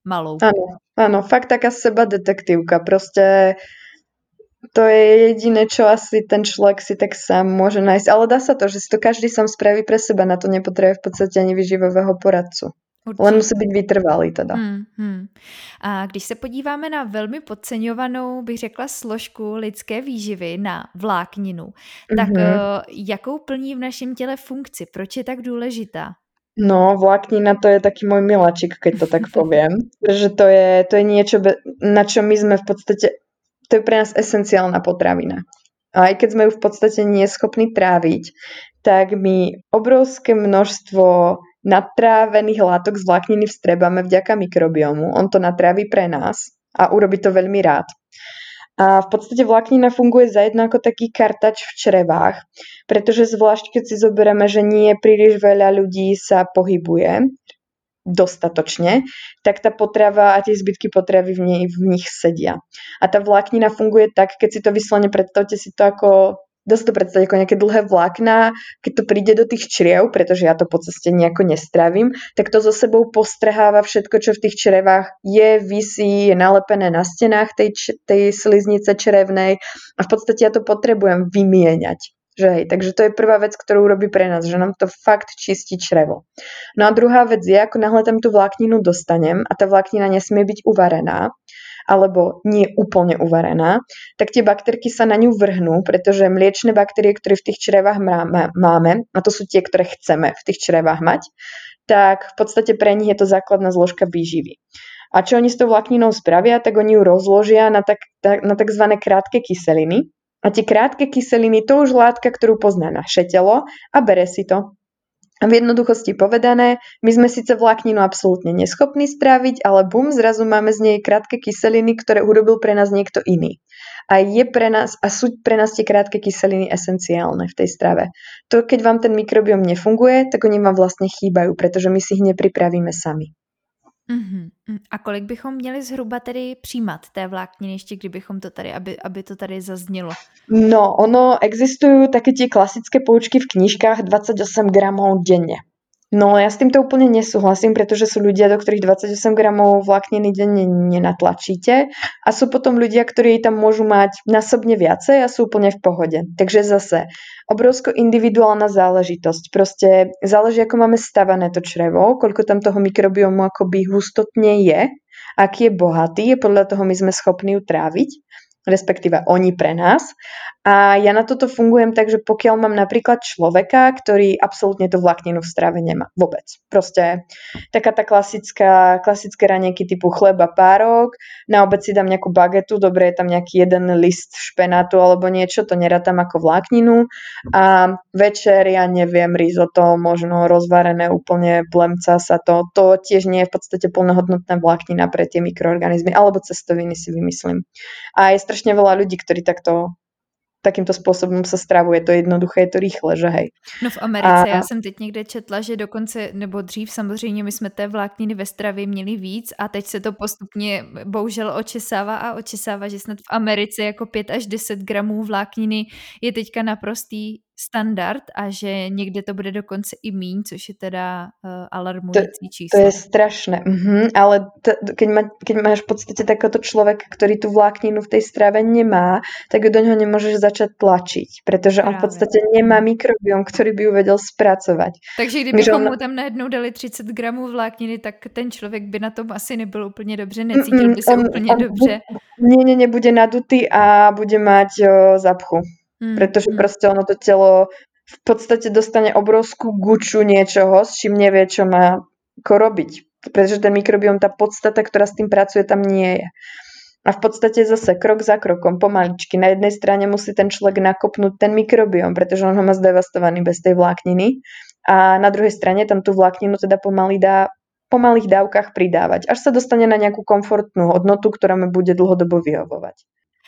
S1: malou.
S2: Áno, áno, fakt taká seba detektívka, proste to je jediné, čo asi ten človek si tak sám môže nájsť. Ale dá sa to, že si to každý sám spraví pre seba. Na to nepotrebuje v podstate ani výživového poradcu.
S1: Určitě.
S2: Len musí být vytrvalý teda.
S1: Hmm, hmm. A když se podíváme na velmi podceňovanou, bych řekla, složku lidské výživy, na vlákninu, tak
S2: Mhm.
S1: uh, jakou plní v našem těle funkci? Proč je tak důležitá?
S2: No, vláknina to je taký môj miláčik, keď to tak poviem. Že to je, to je niečo, na čo my sme v podstate, to je pre nás esenciálna potravina. A aj keď sme ju v podstate neschopní tráviť, tak my obrovské množstvo natrávených látok z vlákniny vstrebáme vďaka mikrobiomu. On to natráví pre nás a urobí to veľmi rád. A v podstate vláknina funguje zajedno ako taký kartač v črevách, pretože zvlášť keď si zoberieme, že nie príliš veľa ľudí sa pohybuje dostatočne, tak tá potrava a tie zbytky potravy v, nej, v nich sedia. A tá vláknina funguje tak, keď si to vyslovene predstavte si to ako, dá sa to predstaviť ako nejaké dlhé vlákna, keď to príde do tých čriev, pretože ja to po ceste nejako nestravím, tak to so sebou postrháva všetko, čo v tých črevách je, visí, je nalepené na stenách tej, tej sliznice črevnej a v podstate ja to potrebujem vymieňať. Že hej, takže to je prvá vec, ktorú robí pre nás, že nám to fakt čistí črevo. No a druhá vec je, ako náhle tam tú vlákninu dostanem a tá vláknina nesmie byť uvarená, alebo nie úplne uvarená, tak tie baktérky sa na ňu vrhnú, pretože mliečne baktérie, ktoré v tých črevách máme, a to sú tie, ktoré chceme v tých črevách mať, tak v podstate pre nich je to základná zložka výživy. A čo oni s tou vlákninou spravia, tak oni ju rozložia na, tak, na takzvané krátke kyseliny. A tie krátke kyseliny, to už látka, ktorú pozná naše telo a bere si to. A v jednoduchosti povedané, my sme síce vlákninu absolútne neschopní stráviť, ale bum, zrazu máme z nej krátke kyseliny, ktoré urobil pre nás niekto iný. A je pre nás, a sú pre nás tie krátke kyseliny esenciálne v tej strave. To, keď vám ten mikrobióm nefunguje, tak oni vám vlastne chýbajú, pretože my si ich nepripravíme sami.
S1: Uhum. A kolik bychom měli zhruba tedy přijímat té vlákniny, ještě kdybychom to tady, aby, aby to tady zaznělo?
S2: No, ono, existujú také tie klasické poučky v knižkách dvadsaťosem gramov denne. No, ja s týmto úplne nesúhlasím, pretože sú ľudia, do ktorých dvadsaťosem gramov vlákniny denne nenatlačíte a sú potom ľudia, ktorí tam môžu mať násobne viacej a sú úplne v pohode. Takže zase, obrovsko individuálna záležitosť. Proste záleží, ako máme stavané to črevo, koľko tam toho mikrobiomu akoby hustotne je, aký je bohatý, je podľa toho my sme schopní ju tráviť, respektíve oni pre nás. A ja na toto fungujem tak, že pokiaľ mám napríklad človeka, ktorý absolútne tú vlákninu v strave nemá vôbec. Proste taká tá klasická, klasické raňajky typu chleba, párok, na obed si dám nejakú bagetu, dobre je tam nejaký jeden list špenátu alebo niečo, to nerátam ako vlákninu a večer, ja neviem, risotto, možno rozvarené úplne, plemca sa to, to tiež nie je v podstate plnohodnotná vláknina pre tie mikroorganizmy, alebo cestoviny si vymyslím. A je strašne veľa ľudí, ktorí takto takýmto spôsobom sa stravuje. To je jednoduché, je to rýchle, že hej.
S1: No v Americe, a... já jsem teď někde četla, že dokonce, nebo dřív samozřejmě my jsme té vlákniny ve stravě měli víc a teď se to postupně bohužel očesává a očesává, že snad v Americe jako pět až deset gramů vlákniny je teďka naprostý standard a že někde to bude dokonce i míň, což je teda uh, alarmující číslo.
S2: To je strašné, mhm, ale t- keď, ma, keď máš v podstate takéto človeka, ktorý tú vlákninu v tej strave nemá, tak do ňoho nemôžeš začať tlačiť, pretože Právě. On v podstate nemá mikrobióm, ktorý by ju vedel spracovať.
S1: Takže kdybychom on... mu tam najednou dali třicet gramů vlákniny, tak ten člověk by na tom asi nebyl úplně dobře, necítil by se on, úplně on, dobře.
S2: Nie, nie, nebude nadutý a bude mať o, zapchu. Hmm, pretože hmm. proste ono to telo v podstate dostane obrovskú guču niečoho, s čím nevie, čo má ako robiť. Pretože ten mikrobióm, tá podstata, ktorá s tým pracuje, tam nie je. A v podstate zase krok za krokom, pomaličky. Na jednej strane musí ten človek nakopnúť ten mikrobióm, pretože on ho má zdevastovaný bez tej vlákniny. A na druhej strane tam tú vlákninu teda pomaly dá po malých dávkach pridávať, až sa dostane na nejakú komfortnú hodnotu, ktorá mu bude dlhodobo vyhovovať.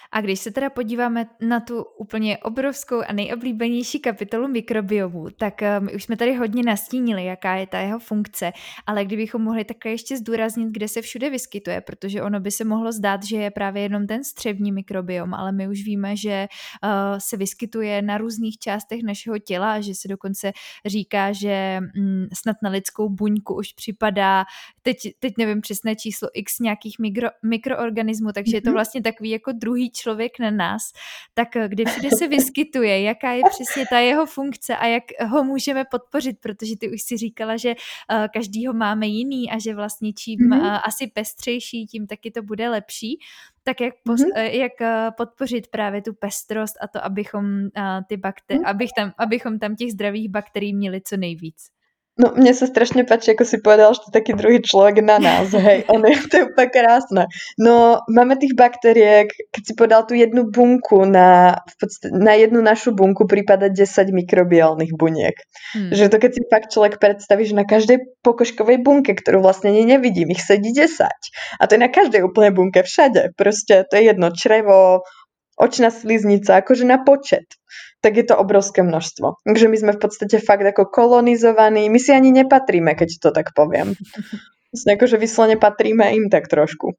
S1: A když se teda podíváme na tu úplně obrovskou a nejoblíbenější kapitolu mikrobiomu, tak my už jsme tady hodně nastínili, jaká je ta jeho funkce, ale kdybychom mohli také ještě zdůraznit, kde se všude vyskytuje, protože ono by se mohlo zdát, že je právě jenom ten střevní mikrobiom, ale my už víme, že uh, se vyskytuje na různých částech našeho těla a že se dokonce říká, že mm, snad na lidskou buňku už připadá, teď, teď nevím přesné číslo x nějakých mikro, mikroorganismů, takže je to vlastně takový jako druhý člověk na nás, tak kde všude se vyskytuje, jaká je přesně ta jeho funkce a jak ho můžeme podpořit, protože ty už si říkala, že uh, každý ho máme jiný a že vlastně čím mm-hmm. uh, asi pestřejší, tím taky to bude lepší. Tak jak, pos, mm-hmm. jak uh, podpořit právě tu pestrost a to, abychom, uh, ty bakter- mm-hmm. abych tam, abychom tam těch zdravých bakterií měli co nejvíc.
S2: No, mne sa strašne páči, ako si povedal, že to je taký druhý človek na nás, hej, on je, to je úplne krásne. No, máme tých baktériek, keď si povedal tú jednu bunku, na, v podstate, na jednu našu bunku prípada desať mikrobiálnych buniek. Hmm. Že to keď si fakt človek predstaví, že na každej pokožkovej bunke, ktorú vlastne ani nevidím, ich sedí desať. A to je na každej úplne bunke, všade. Proste to je jedno črevo, očná sliznica, akože na počet. Tak je to obrovské množstvo. Takže my sme v podstate fakt ako kolonizovaní. My si ani nepatríme, keď to tak poviem. Vlastne akože vyslovene patríme im tak trošku.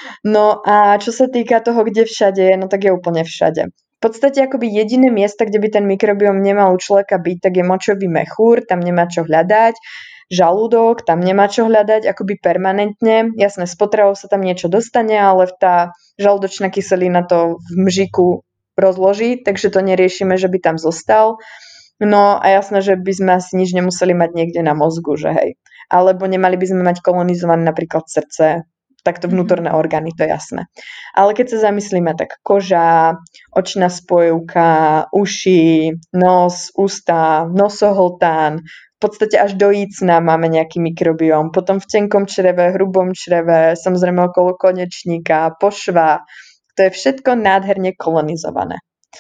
S2: No a čo sa týka toho, kde všade je, no tak je úplne všade. V podstate akoby jediné miesto, kde by ten mikrobióm nemal u človeka byť, tak je močový mechúr, tam nemá čo hľadať. Žalúdok, tam nemá čo hľadať akoby permanentne. Jasné, s potravou sa tam niečo dostane, ale tá žalúdočná kyselina to v mžiku rozloží, takže to neriešime, že by tam zostal. No a jasné, že by sme asi nič nemuseli mať niekde na mozgu, že hej. Alebo nemali by sme mať kolonizované napríklad srdce, takto vnútorné orgány, to je jasné. Ale keď sa zamyslíme, tak koža, očná spojivka, uši, nos, ústa, nosohltán, v podstate až do jícna máme nejaký mikrobióm, potom v tenkom čreve, hrubom čreve, samozrejme okolo konečníka, pošva. To je všetko nádherne kolonizované.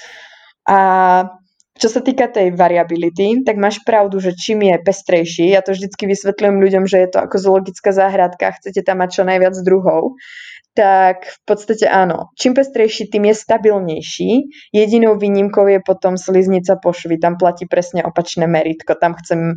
S2: A čo sa týka tej variability, tak máš pravdu, že čím je pestrejší, ja to vždycky vysvetľujem ľuďom, že je to ako zoologická záhradka, chcete tam mať čo najviac druhov, tak v podstate áno. Čím pestrejší, tým je stabilnejší. Jedinou výnimkou je potom sliznica pošvy. Tam platí presne opačné meritko. Tam chcem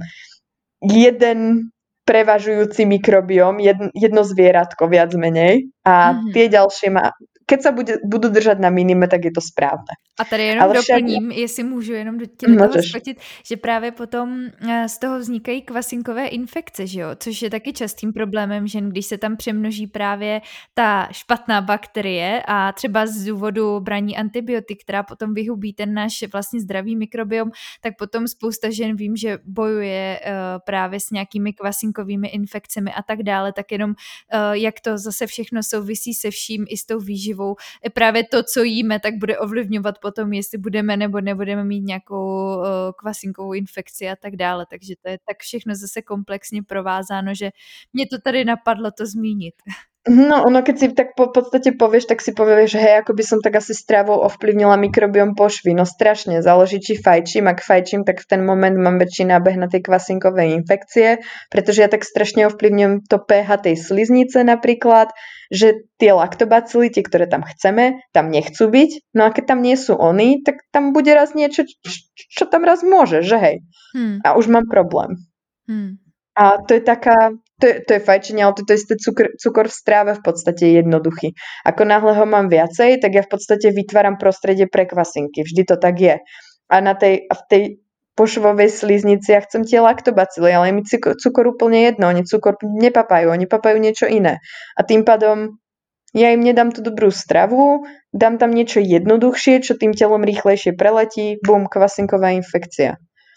S2: jeden prevažujúci mikrobióm, jedno zvieratko viac menej a mm-hmm. tie ďalšie má, keď sa bude, budú držať na minime, tak je to správne.
S1: A tady jenom ale doplním, však... jestli můžu jenom do tě do toho skočit, že právě potom z toho vznikají kvasinkové infekce, že jo? Což je taky častým problémem žen, když se tam přemnoží právě ta špatná bakterie a třeba z důvodu braní antibiotik, která potom vyhubí ten náš vlastně zdravý mikrobiom, tak potom spousta žen vím, že bojuje uh, právě s nějakými kvasinkovými infekcemi a tak dále, tak jenom uh, jak to zase všechno souvisí se vším i s tou výživou. Právě to, co jíme, tak bude ovlivňovat potom, jestli budeme nebo nebudeme mít nějakou uh, kvasinkovou infekci a tak dále. Takže to je tak všechno zase komplexně provázáno, že mě to tady napadlo to zmínit.
S2: No, ono keď si tak po podstate povieš, tak si povieš, že hej, ako by som tak asi stravou ovplyvnila mikrobióm pošvy. No strašne, záleží, či fajčím. Ak fajčím, tak v ten moment mám väčší nábeh na tej kvasinkovej infekcie, pretože ja tak strašne ovplyvňujem to pH tej sliznice napríklad, že tie laktobacily, tie, ktoré tam chceme, tam nechcú byť. No a keď tam nie sú oni, tak tam bude raz niečo, čo tam raz môže, že hej. Hmm. A už mám problém. Hmm. A to je taká, to je, to je fajčenie, ale to je isté cukor, cukor v stráve v podstate jednoduchý. Ako náhle ho mám viacej, tak ja v podstate vytváram prostredie pre kvasinky. Vždy to tak je. A na tej, a v tej pošvovej sliznici ja chcem tie laktobacily, ale je mi cukor, cukor úplne jedno. Oni cukor nepapajú, oni papajú niečo iné. A tým pádom ja im nedám tú dobrú stravu, dám tam niečo jednoduchšie, čo tým telom rýchlejšie preletí, bum, kvasinková infekcia.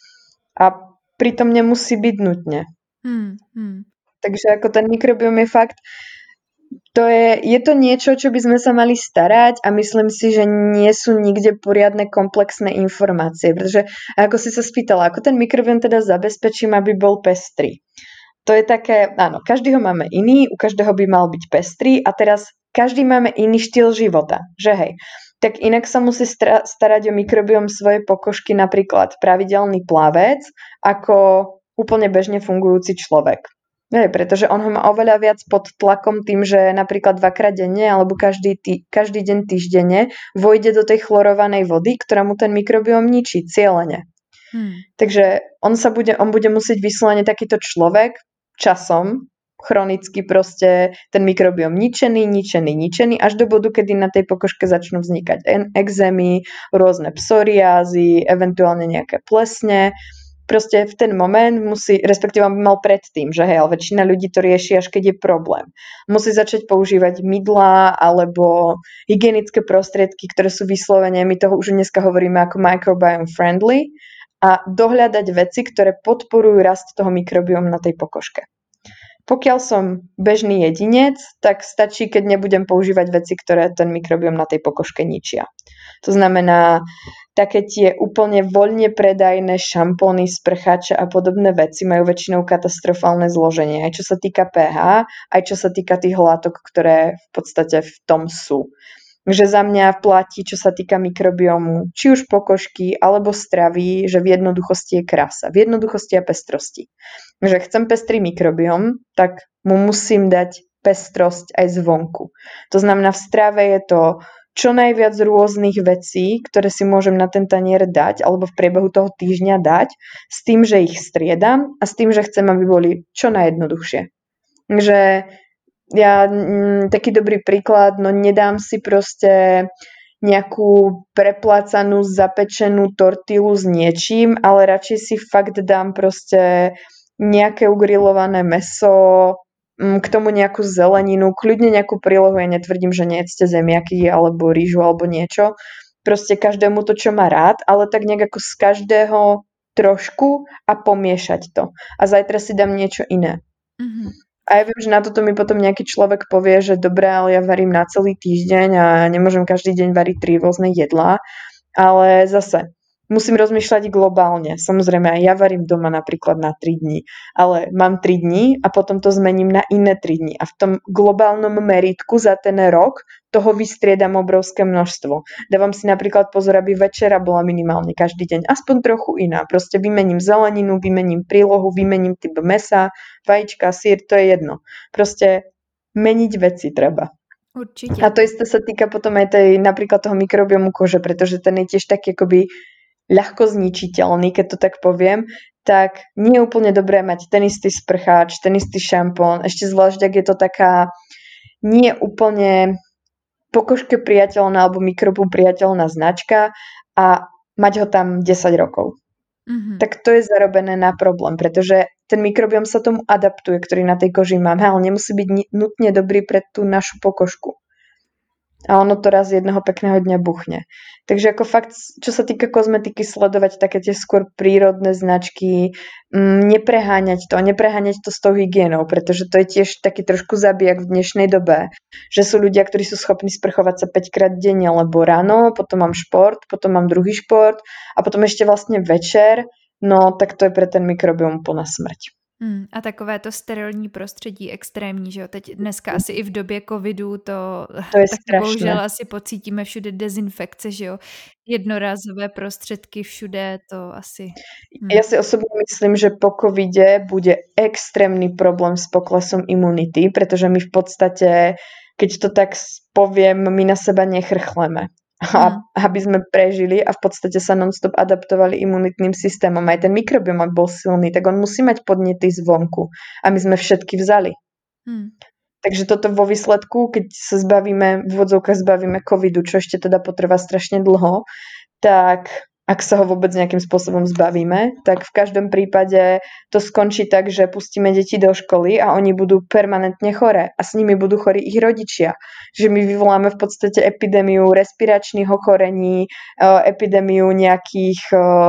S2: A pritom nemusí byť nutne. Hmm, hmm. Takže ako ten mikrobióm je fakt, to je, je to niečo, čo by sme sa mali starať a myslím si, že nie sú nikde poriadne komplexné informácie, pretože ako si sa spýtala, ako ten mikrobióm teda zabezpečím, aby bol pestrý. To je také, áno, každý ho máme iný, u každého by mal byť pestrý a teraz každý máme iný štýl života, že hej. Tak inak sa musí stra- starať o mikrobióm svojej pokožky napríklad pravidelný plavec, ako úplne bežne fungujúci človek. Nie, pretože on ho má oveľa viac pod tlakom tým, že napríklad dvakrát denne alebo každý, tý, každý deň týždenne vojde do tej chlorovanej vody, ktorá mu ten mikrobióm ničí cieľene. Hmm. Takže on sa bude, on bude musieť vyslovene takýto človek časom chronicky proste ten mikrobióm ničený, ničený, ničený až do bodu, kedy na tej pokožke začnú vznikať ekzémy, rôzne psoriázy, eventuálne nejaké plesne. Proste v ten moment musí, respektíve by mal predtým, že hej, ale väčšina ľudí to rieši, až keď je problém. Musí začať používať mydlá alebo hygienické prostriedky, ktoré sú vyslovene, my toho už dneska hovoríme ako microbiome friendly, a dohľadať veci, ktoré podporujú rast toho mikrobiomu na tej pokožke. Pokiaľ som bežný jedinec, tak stačí, keď nebudem používať veci, ktoré ten mikrobióm na tej pokožke ničia. To znamená, také tie úplne voľne predajné šampóny, sprcháče a podobné veci majú väčšinou katastrofálne zloženie, aj čo sa týka pH, aj čo sa týka tých látok, ktoré v podstate v tom sú. Že za mňa platí, čo sa týka mikrobiomu, či už pokožky alebo stravy, že v jednoduchosti je krása, v jednoduchosti a pestrosti. Že chcem pestrý mikrobióm, tak mu musím dať pestrosť aj zvonku. To znamená, v strave je to čo najviac rôznych vecí, ktoré si môžem na ten tanier dať alebo v priebehu toho týždňa dať, s tým, že ich striedam a s tým, že chcem, aby boli čo najjednoduchšie. Takže ja, m, taký dobrý príklad, no nedám si proste nejakú preplácanú, zapečenú tortilu s niečím, ale radšej si fakt dám proste nejaké ugrilované mäso, m, k tomu nejakú zeleninu, kľudne nejakú prílohu, ja netvrdím, že nejedzte zemiaky alebo rýžu alebo niečo, proste každému to, čo má rád, ale tak nejak ako z každého trošku a pomiešať to. A zajtra si dám niečo iné. Mm-hmm. A ja viem, že na toto mi potom nejaký človek povie, že dobré, ale ja varím na celý týždeň a nemôžem každý deň variť tri rôzne jedlá. Ale zase, musím rozmýšľať globálne. Samozrejme, aj ja varím doma napríklad na tri dni, ale mám tri dni a potom to zmením na iné tri dni. A v tom globálnom meritku za ten rok toho vystriedam obrovské množstvo. Dávam si napríklad pozor, aby večera bola minimálne každý deň aspoň trochu iná. Proste vymením zeleninu, vymením prílohu, vymením typ mesa, vajíčka, syr, to je jedno. Proste meniť veci treba.
S1: Určite.
S2: A to isté sa týka potom aj tej, napríklad toho mikrobiomu kože, pretože ten je tiež taký akoby ľahko zničiteľný, keď to tak poviem, tak nie je úplne dobré mať ten istý sprcháč, ten istý šampón, ešte zvlášť, ak je to taká nie úplne pokožke priateľná alebo mikrobu priateľná značka a mať ho tam desať rokov. Mm-hmm. Tak to je zarobené na problém, pretože ten mikrobióm sa tomu adaptuje, ktorý na tej koži mám, ale nemusí byť nutne dobrý pre tú našu pokožku. A ono to raz jedného pekného dňa buchne. Takže ako fakt, čo sa týka kozmetiky, sledovať také tie skôr prírodné značky, m, nepreháňať to, nepreháňať to s tou hygienou, pretože to je tiež taký trošku zabijak v dnešnej dobe, že sú ľudia, ktorí sú schopní sprchovať sa päťkrát denne, lebo ráno, potom mám šport, potom mám druhý šport a potom ešte vlastne večer, no tak to je pre ten mikrobióm úplná smrť.
S1: Hmm, a takové to sterilní prostředí extrémní, že jo? Teď dneska asi i v době covidu to,
S2: to je
S1: tak
S2: strašné.
S1: Bohužel asi pocítíme všude dezinfekce, že jo? Jednorázové prostředky všude, to asi...
S2: Hmm. Ja si osobne myslím, že po covide bude extrémny problém s poklesom imunity, pretože my v podstate, keď to tak poviem, my na seba nechrchleme. A mm. aby sme prežili a v podstate sa non-stop adaptovali imunitným systémom. Aj ten mikrobióm, ak bol silný, tak on musí mať podnety zvonku. A my sme všetky vzali. Mm. Takže toto vo výsledku, keď sa zbavíme, v úvodzovkách zbavíme covidu, čo ešte teda potrvá strašne dlho, tak ak sa ho vôbec nejakým spôsobom zbavíme, tak v každom prípade to skončí tak, že pustíme deti do školy a oni budú permanentne choré a s nimi budú chorí ich rodičia. Že my vyvoláme v podstate epidémiu respiračných ochorení, epidémiu nejakých,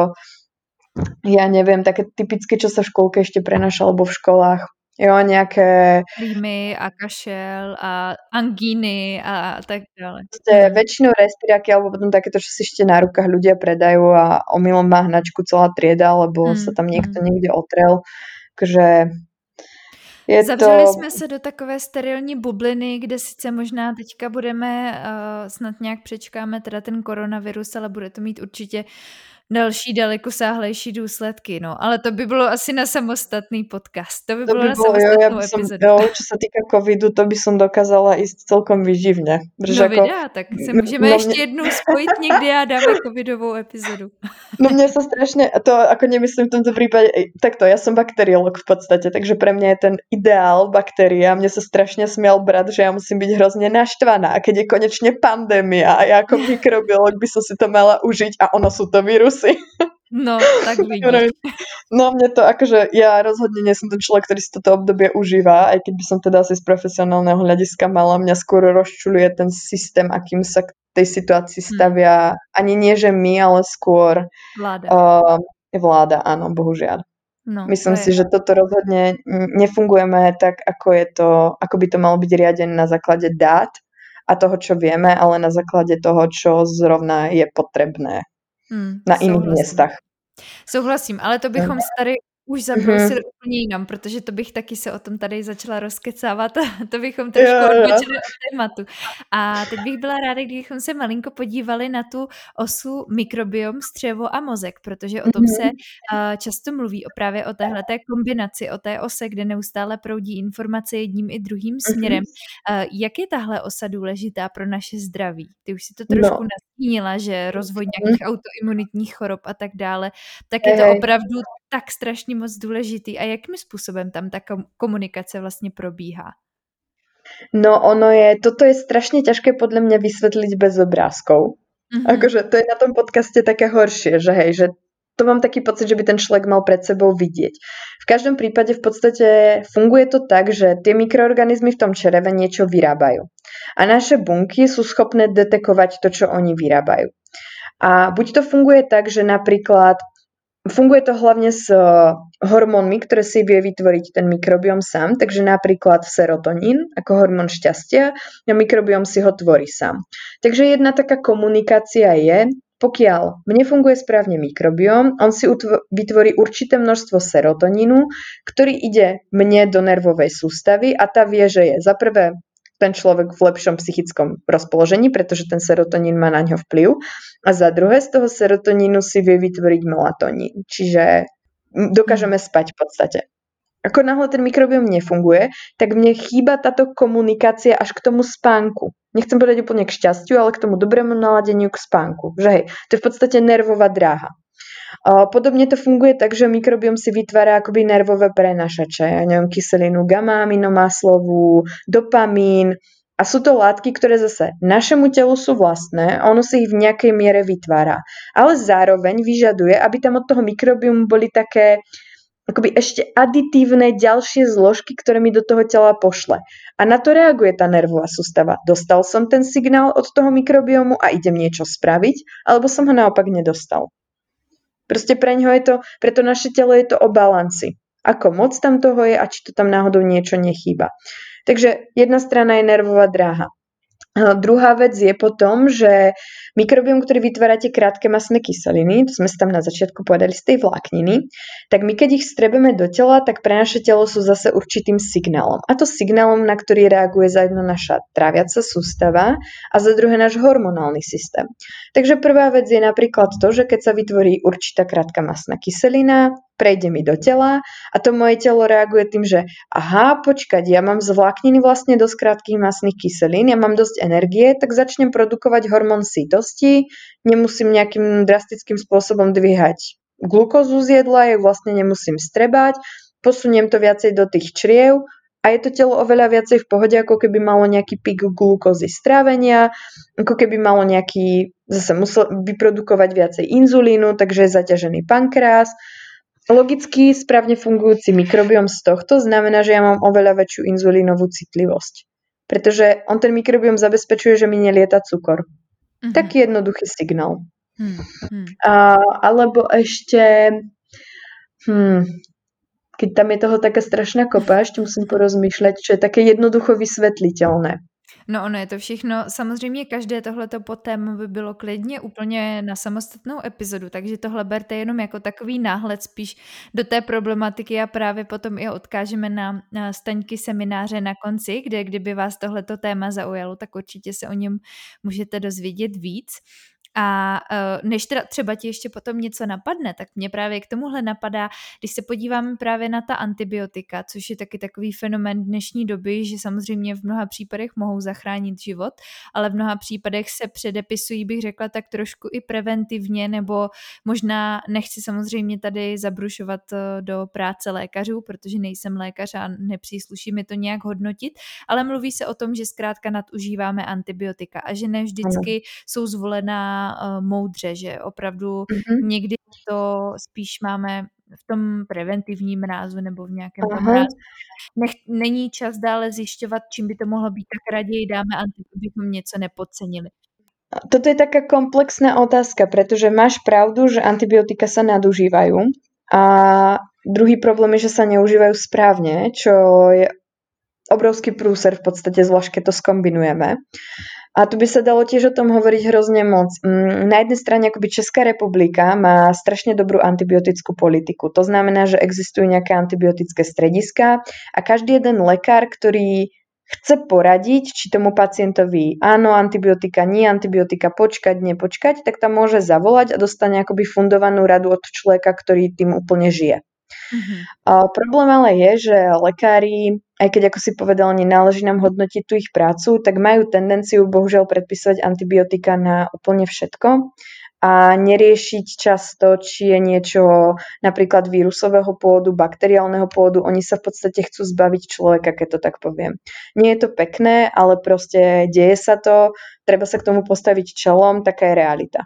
S2: ja neviem, také typické, čo sa v škôlke ešte prenáša, alebo v školách. Jo, nejaké...
S1: Rýmy a kašel a angíny a tak ďalej.
S2: Ste väčšinou respiráky, alebo potom takéto, čo si ešte na rukách ľudia predajú a omylom má hnačku celá trieda, lebo mm, sa tam niekto mm. niekde otrel. Takže je
S1: Zavřeli
S2: to...
S1: jsme se do takové sterilní bubliny, kde sice možná teďka budeme, uh, snad nějak přečkáme teda ten koronavirus, ale bude to mít určitě další dalekosáhlejší důsledky, no. Ale to by bylo asi na samostatný podcast. To by
S2: To
S1: bylo
S2: by
S1: na
S2: bolo, jo, ja
S1: samostatnou
S2: by som,
S1: epizodu.
S2: jo, čo sa týka covidu, to by som dokázala ísť celkom vyživne. Protože
S1: No
S2: ako,
S1: vydá, tak se můžeme
S2: no
S1: ještě
S2: mne,
S1: jednou spojit někdy a dáme covidovou epizodu.
S2: no mne sa strašne, to ako nemyslím v tomto prípade, ej, takto, ja som bakteriolog v podstate, takže pre mňa je ten ideál baktéria. Mne sa strašne smial brat, že ja musím byť hrozne naštvaná, a keď je konečne pandémia a ja ako mikrobiolog by som si to mala užiť a ono sú to vírusy.
S1: No, tak vidíš.
S2: No mne to akože, ja rozhodne nie som ten človek, ktorý si toto obdobie užíva, aj keď by som teda asi z profesionálneho hľadiska mala, mňa skôr rozčuľuje ten systém, akým sa k tej situácii stavia, hmm. ani nie, že my, ale skôr
S1: vláda.
S2: Uh, vláda, áno, bohužiaľ. No, Myslím to si, je... že toto rozhodne nefungujeme tak, ako je to, ako by to malo byť riadené na základe dát a toho, čo vieme, ale na základe toho, čo zrovna je potrebné. Hmm, na iných souhlasím. Miestach.
S1: Souhlasím, ale to bychom se tady už zabrousili mm-hmm. úplně jinam, protože to bych taky se o tom tady začala rozkecávat a to bychom trošku yeah, odbočili yeah. od tématu. A teď bych byla ráda, kdybychom se malinko podívali na tu osu mikrobiom, střevo a mozek, protože o tom mm-hmm. se uh, často mluví, o právě o téhleté kombinaci, o té ose, kde neustále proudí informace jedním i druhým směrem. Mm-hmm. Uh, jak je tahle osa důležitá pro naše zdraví? Ty už si to trošku no. nastínila, že rozvoj nějakých mm-hmm. autoimunitních chorob a tak dále, tak je to hey. opravdu tak strašně moc důležitý. A jakým způsobem tam ta komunikace vlastně probíhá?
S2: No ono je, toto je strašne ťažké podľa mňa vysvetliť bez obrázkov. Mm-hmm. Akože to je na tom podcaste také horšie, že hej, že to mám taký pocit, že by ten človek mal pred sebou vidieť. V každom prípade v podstate funguje to tak, že tie mikroorganizmy v tom čreve niečo vyrábajú. A naše bunky sú schopné detekovať to, čo oni vyrábajú. A buď to funguje tak, že napríklad funguje to hlavne s hormónmi, ktoré si vie vytvoriť ten mikrobióm sám, takže napríklad serotonín ako hormón šťastia a mikrobióm si ho tvorí sám. Takže jedna taká komunikácia je, pokiaľ mne funguje správne mikrobióm, on si utv- vytvorí určité množstvo serotonínu, ktorý ide mne do nervovej sústavy a tá vie, že je za prvé ten človek v lepšom psychickom rozpoložení, pretože ten serotonín má na ňo vplyv. A za druhé, z toho serotonínu si vie vytvoriť melatonín. Čiže dokážeme spať v podstate. Ako náhle ten mikrobióm nefunguje, tak mne chýba táto komunikácia až k tomu spánku. Nechcem povedať úplne k šťastiu, ale k tomu dobrému naladeniu k spánku. Že hej, to je v podstate nervová dráha. Podobne to funguje tak, že mikrobióm si vytvára akoby nervové prenašače, ja neviem, kyselinu gamma-aminomaslovú, dopamín a sú to látky, ktoré zase našemu telu sú vlastné a ono si ich v nejakej miere vytvára. Ale zároveň vyžaduje, aby tam od toho mikrobiomu boli také akoby ešte aditívne ďalšie zložky, ktoré mi do toho tela pošle. A na to reaguje tá nervová sústava. Dostal som ten signál od toho mikrobiomu a idem niečo spraviť, alebo som ho naopak nedostal. Proste pre ňoho je to, pre to naše telo je to o balanci. Ako moc tam toho je a či to tam náhodou niečo nechýba. Takže jedna strana je nervová dráha. A druhá vec je potom, že mikrobióm, ktorý vytvára tie krátke mastné kyseliny, to sme si tam na začiatku povedali z tej vlákniny, tak my keď ich strebeme do tela, tak pre naše telo sú zase určitým signálom. A to signálom, na ktorý reaguje za jedno naša tráviaca sústava a za druhé náš hormonálny systém. Takže prvá vec je napríklad to, že keď sa vytvorí určitá krátka mastná kyselina, prejde mi do tela a to moje telo reaguje tým, že aha, počkať, ja mám z vlákniny vlastne dosť krátkych mastných kyselín, ja mám dosť energie, tak začnem produkovať hormón sytosti, nemusím nejakým drastickým spôsobom dvíhať glukózu z jedla, ju vlastne nemusím strebať, posuniem to viacej do tých čriev a je to telo oveľa viacej v pohode, ako keby malo nejaký pík glukózy strávenia, ako keby malo nejaký, zase musel vyprodukovať viacej inzulínu, takže je zaťažený pankreas. Logicky správne fungujúci mikrobióm z tohto znamená, že ja mám oveľa väčšiu inzulínovú citlivosť. Pretože on ten mikrobióm zabezpečuje, že mi nelieta cukor. Mm-hmm. Taký jednoduchý signál. Mm-hmm. A, alebo ešte, hmm, keď tam je toho taká strašná kopa, ešte musím porozmýšľať, čo je také jednoducho vysvetliteľné.
S1: No ono je to všechno, samozřejmě každé tohleto téma by bylo klidně úplně na samostatnou epizodu, takže tohle berte jenom jako takový náhled spíš do té problematiky a právě potom i odkážeme na, na Staňky semináře na konci, kde kdyby vás tohleto téma zaujalo, tak určitě se o něm můžete dozvědět víc. A než teda třeba ti ještě potom něco napadne, tak mě právě k tomuhle napadá, když se podíváme právě na ta antibiotika, což je taky takový fenomén dnešní doby, že samozřejmě v mnoha případech mohou zachránit život, ale v mnoha případech se předepisují, bych řekla, tak trošku i preventivně, nebo možná nechci samozřejmě tady zabrušovat do práce lékařů, protože nejsem lékař a nepřísluší mi to nějak hodnotit, ale mluví se o tom, že zkrátka nadužíváme antibiotika a že ne vždycky jsou zvolená moudře, že opravdu mm-hmm. někdy to spíš máme v tom preventivním rázu nebo v nějakém tom rázu. Nech, není čas dále zjišťovat, čím by to mohlo být, tak raději dáme antibiotika, abychom něco nepodcenili.
S2: Toto je taká komplexná otázka, pretože máš pravdu, že antibiotika sa nadužívajú a druhý problém je, že sa neužívajú správne, čo je obrovský prúser v podstate, zvlášť keď to skombinujeme. A tu by sa dalo tiež o tom hovoriť hrozne moc. Na jednej strane akoby Česká republika má strašne dobrú antibiotickú politiku. To znamená, že existujú nejaké antibiotické strediská a každý jeden lekár, ktorý chce poradiť, či tomu pacientovi áno, antibiotika, nie antibiotika, počkať, nepočkať, tak tam môže zavolať a dostane akoby fundovanú radu od človeka, ktorý tým úplne žije. Mm-hmm. A problém ale je, že lekári, aj keď ako si povedal, nenáleží nám hodnotiť tú ich prácu, tak majú tendenciu bohužiaľ predpisovať antibiotika na úplne všetko a neriešiť často, či je niečo napríklad vírusového pôvodu, bakteriálneho pôvodu. Oni sa v podstate chcú zbaviť človeka, keď to tak poviem. Nie je to pekné, ale proste deje sa to, treba sa k tomu postaviť čelom, taká je realita.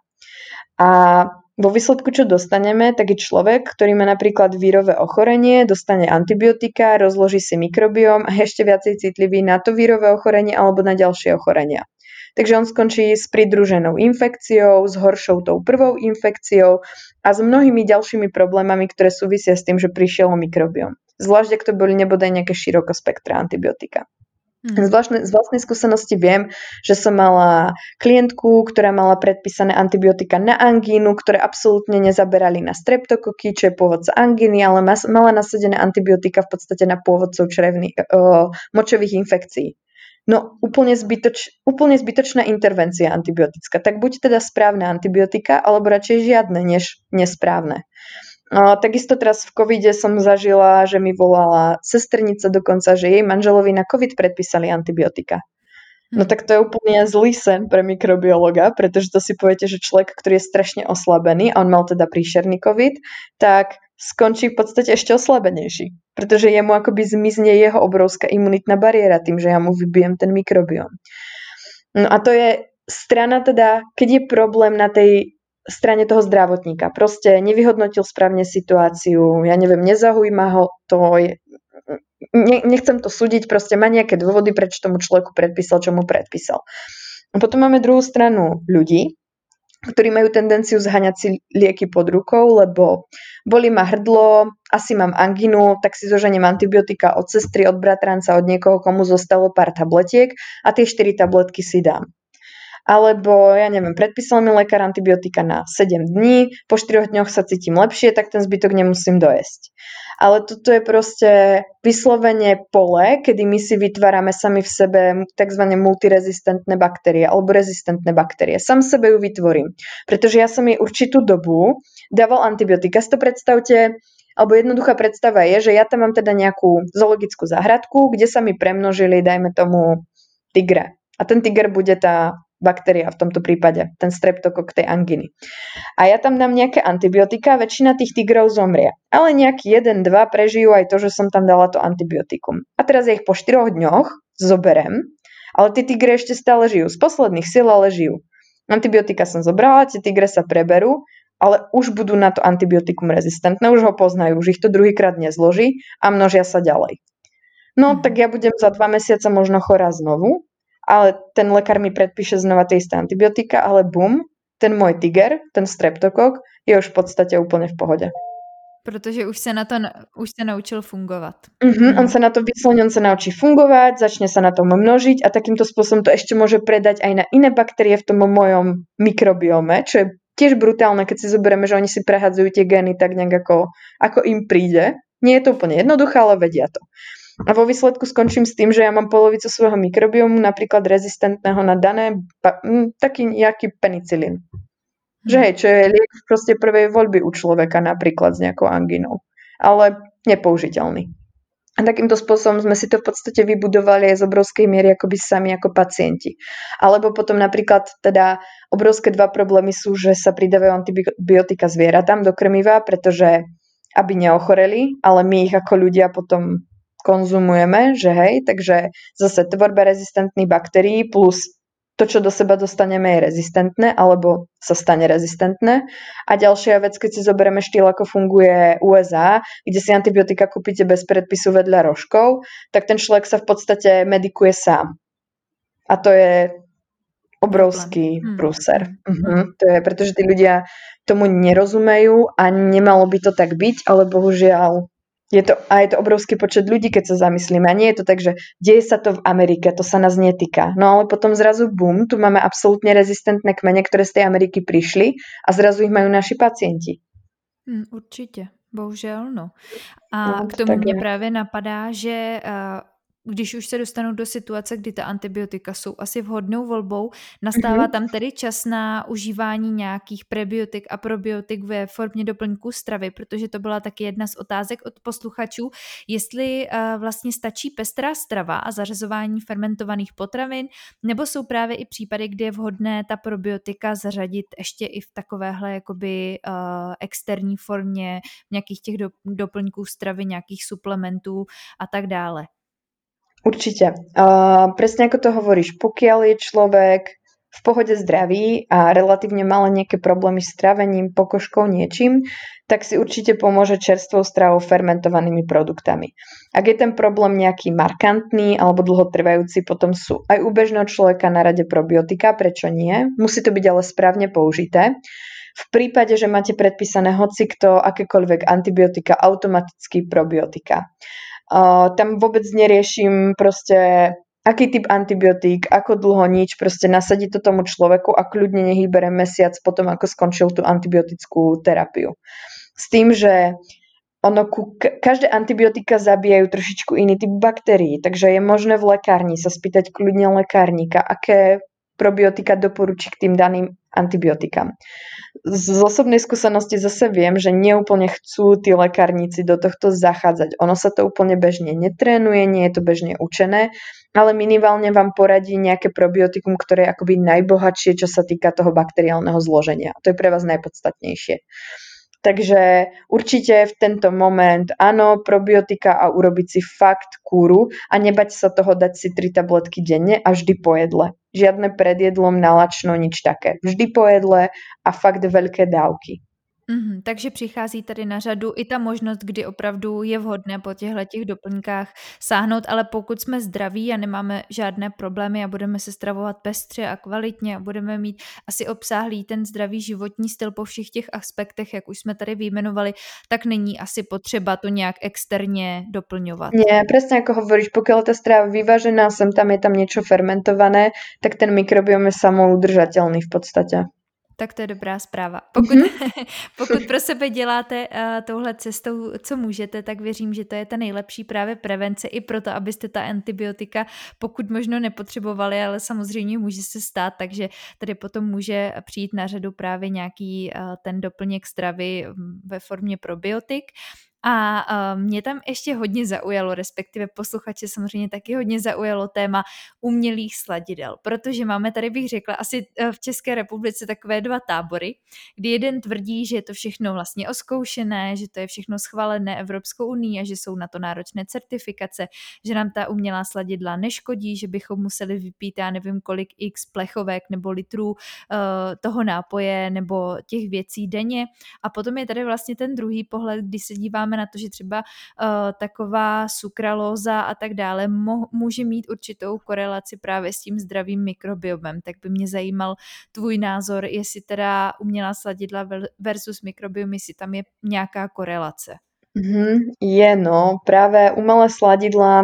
S2: A vo výsledku, čo dostaneme, tak je človek, ktorý má napríklad vírové ochorenie, dostane antibiotika, rozloží si mikrobióm a je ešte viacej citlivý na to vírové ochorenie alebo na ďalšie ochorenia. Takže on skončí s pridruženou infekciou, s horšou tou prvou infekciou a s mnohými ďalšími problémami, ktoré súvisia s tým, že prišiel o mikrobióm. Zvlášť, ak to boli nebodaj nejaké širokospektrá antibiotika. Hmm. Z, vlastnej, z vlastnej skúsenosti viem, že som mala klientku, ktorá mala predpísané antibiotika na angínu, ktoré absolútne nezaberali na streptokoky, čo je pôvodca angíny, ale mas, mala nasadené antibiotika v podstate na pôvodcov črevných, uh, močových infekcií. No úplne, zbytoč, úplne zbytočná intervencia antibiotická. Tak buď teda správne antibiotika, alebo radšej žiadne, než nesprávne. No, takisto teraz v covide som zažila, že mi volala sestrnica dokonca, že jej manželovi na covid predpísali antibiotika. No tak to je úplne zlý sen pre mikrobiologa, pretože to si poviete, že človek, ktorý je strašne oslabený, a on mal teda príšerný covid, tak skončí v podstate ešte oslabenejší, pretože jemu akoby zmizne jeho obrovská imunitná bariéra tým, že ja mu vybijem ten mikrobióm. No a to je strana teda, keď je problém na tej strane toho zdravotníka. Proste nevyhodnotil správne situáciu, ja neviem, nezaujíma ho to, je, ne, nechcem to súdiť, proste má nejaké dôvody, prečo tomu človeku predpísal, čo mu predpísal. A potom máme druhú stranu ľudí, ktorí majú tendenciu zhaňať si lieky pod rukou, lebo bolí ma hrdlo, asi mám angínu, tak si zoženiem antibiotika od sestry, od bratranca, od niekoho, komu zostalo pár tabletiek a tie štyri tabletky si dám. Alebo, ja neviem, predpísal mi lekár antibiotika na sedem dní, po štyroch dňoch sa cítim lepšie, tak ten zbytok nemusím dojesť. Ale toto je proste vyslovene pole, kedy my si vytvárame sami v sebe tzv. Multirezistentné baktérie alebo rezistentné baktérie. Sam sebe ju vytvorím, pretože ja som jej určitú dobu dával antibiotika. Si to predstavte, alebo jednoduchá predstava je, že ja tam mám teda nejakú zoologickú záhradku, kde sa mi premnožili, dajme tomu, tigre. A ten tiger bude tá baktéria v tomto prípade, ten streptokok tej anginy. A ja tam dám nejaké antibiotika, väčšina tých tigrov zomrie. Ale nejaký jeden, dva prežijú aj to, že som tam dala to antibiotikum. A teraz ja ich po štyroch dňoch zoberem, ale tie tigre ešte stále žijú. Z posledných síl ale žijú. Antibiotika som zobrala, tie tigre sa preberú, ale už budú na to antibiotikum rezistentné, už ho poznajú, už ich to druhýkrát nezloží a množia sa ďalej. No, tak ja budem za dva mesiace možno chorá znovu, ale ten lekár mi predpíše znova tie isté antibiotika, ale bum, ten môj tiger, ten streptokok, je už v podstate úplne v pohode.
S1: Protože už se na to už se naučil fungovat.
S2: Uh-huh, on sa na to vyslovene, on sa naučí fungovať, začne sa na tom množiť a takýmto spôsobom to ešte môže predať aj na iné baktérie v tom mojom mikrobiome, čo je tiež brutálne, keď si zoberieme, že oni si prehadzujú tie gény tak nejak ako, ako im príde. Nie je to úplne jednoduché, ale vedia to. A vo výsledku skončím s tým, že ja mám polovicu svojho mikrobiomu napríklad rezistentného na dané, taký nejaký penicilín. Že hej, čo je liek proste prvej voľby u človeka napríklad s nejakou anginou. Ale nepoužiteľný. A takýmto spôsobom sme si to v podstate vybudovali aj z obrovskej miery akoby sami ako pacienti. Alebo potom napríklad teda obrovské dva problémy sú, že sa pridávajú antibiotika zvieratám do krmiva, pretože aby neochoreli, ale my ich ako ľudia potom konzumujeme, že hej, takže zase tvorba rezistentných baktérií plus to, čo do seba dostaneme, je rezistentné alebo sa stane rezistentné. A ďalšia vec, keď si zoberieme štýl, ako funguje U S A, kde si antibiotika kúpite bez predpisu vedľa rožkov, tak ten človek sa v podstate medikuje sám. A to je obrovský hmm. prúser. Hmm. Uh-huh. To je, pretože tí ľudia tomu nerozumejú a nemalo by to tak byť, ale bohužiaľ je to, a je to obrovský počet ľudí, keď sa zamyslíme. A nie je to tak, že deje sa to v Amerike, to sa nás netýka. No ale potom zrazu bum, tu máme absolútne rezistentné kmene, ktoré z tej Ameriky prišli a zrazu ich majú naši pacienti.
S1: Hmm, určitě, bohužel, no. A no, k tomu mě právě napadá, že uh, když už se dostanou do situace, kdy ta antibiotika jsou asi vhodnou volbou, nastává mm-hmm. tam tedy čas na užívání nějakých prebiotik a probiotik ve formě doplňků stravy, protože to byla taky jedna z otázek od posluchačů, jestli uh, vlastně stačí pestrá strava a zařazování fermentovaných potravin, nebo jsou právě i případy, kdy je vhodné ta probiotika zařadit ještě i v takovéhle jakoby uh, externí formě nějakých těch do, doplňků stravy, nějakých suplementů a tak dále.
S2: Určite. Uh, presne ako to hovoríš, pokiaľ je človek v pohode zdravý a relatívne malé nejaké problémy s trávením, pokožkou, niečím, tak si určite pomôže čerstvou stravou, fermentovanými produktami. Ak je ten problém nejaký markantný alebo dlhotrvajúci, potom sú aj u bežného človeka na rade probiotika, prečo nie? Musí to byť ale správne použité. V prípade, že máte predpísané hocikto, akékoľvek antibiotika, automaticky probiotika. Uh, tam vôbec neriešim proste, aký typ antibiotík, ako dlho nič, proste nasadiť to tomu človeku a kľudne nech ich bere mesiac potom, ako skončil tú antibiotickú terapiu. S tým, že ono, každé antibiotika zabíjajú trošičku iný typ baktérií, takže je možné v lekárni sa spýtať kľudne lekárnika, aké probiotika doporučí k tým daným antibiotikám. Z osobnej skúsenosti zase viem, že neúplne chcú tí lekárnici do tohto zachádzať. Ono sa to úplne bežne netrénuje, nie je to bežne učené, ale minimálne vám poradí nejaké probiotikum, ktoré je akoby najbohatšie, čo sa týka toho bakteriálneho zloženia. To je pre vás najpodstatnejšie. Takže určite v tento moment áno, probiotika a urobiť si fakt kúru a nebať sa toho dať si tri tabletky denne a vždy po jedle. Žiadne pred jedlom, nalačno, nič také. Vždy po jedle a fakt veľké dávky.
S1: Mm-hmm, takže přichází tady na řadu i ta možnost, kdy opravdu je vhodné po těchto těch doplňkách sáhnout, ale pokud jsme zdraví a nemáme žádné problémy a budeme se stravovat pestře a kvalitně a budeme mít asi obsáhlý ten zdravý životní styl po všech těch aspektech, jak už jsme tady vyjmenovali, tak není asi potřeba to nějak externě doplňovat.
S2: Nie, presne ako hovoríš, pokiaľ tá strava vyvážená, sem tam je tam niečo fermentované, tak ten mikrobiom je samoudržateľný v podstate.
S1: Tak to je dobrá zpráva. Pokud, mm-hmm. pokud pro sebe děláte uh, touhle cestou, co můžete, tak věřím, že to je ta nejlepší právě prevence i proto, abyste ta antibiotika pokud možno nepotřebovali, ale samozřejmě může se stát, takže tady potom může přijít na řadu právě nějaký uh, ten doplněk stravy ve formě probiotik. A uh, mě tam ještě hodně zaujalo, respektive posluchače samozřejmě taky hodně zaujalo téma umělých sladidel, protože máme tady, bych řekla, asi v České republice takové dva tábory, kdy jeden tvrdí, že je to všechno vlastně oskoušené, že to je všechno schválené Evropskou unii a že jsou na to náročné certifikace, že nám ta umělá sladidla neškodí, že bychom museli vypít, já nevím kolik x plechovek nebo litrů uh, toho nápoje nebo těch věcí denně. A potom je tady vlastně ten druhý pohled, kdy se díváme na to, že třeba uh, taková sukralóza a tak dále mo- může mít určitou korelaci právě s tím zdravým mikrobiomem. Tak by mě zajímal tvůj názor, jestli teda umělá sladidla versus mikrobiom, jestli tam je nějaká korelace.
S2: Mm-hmm, je no, práve umelé sladidlá,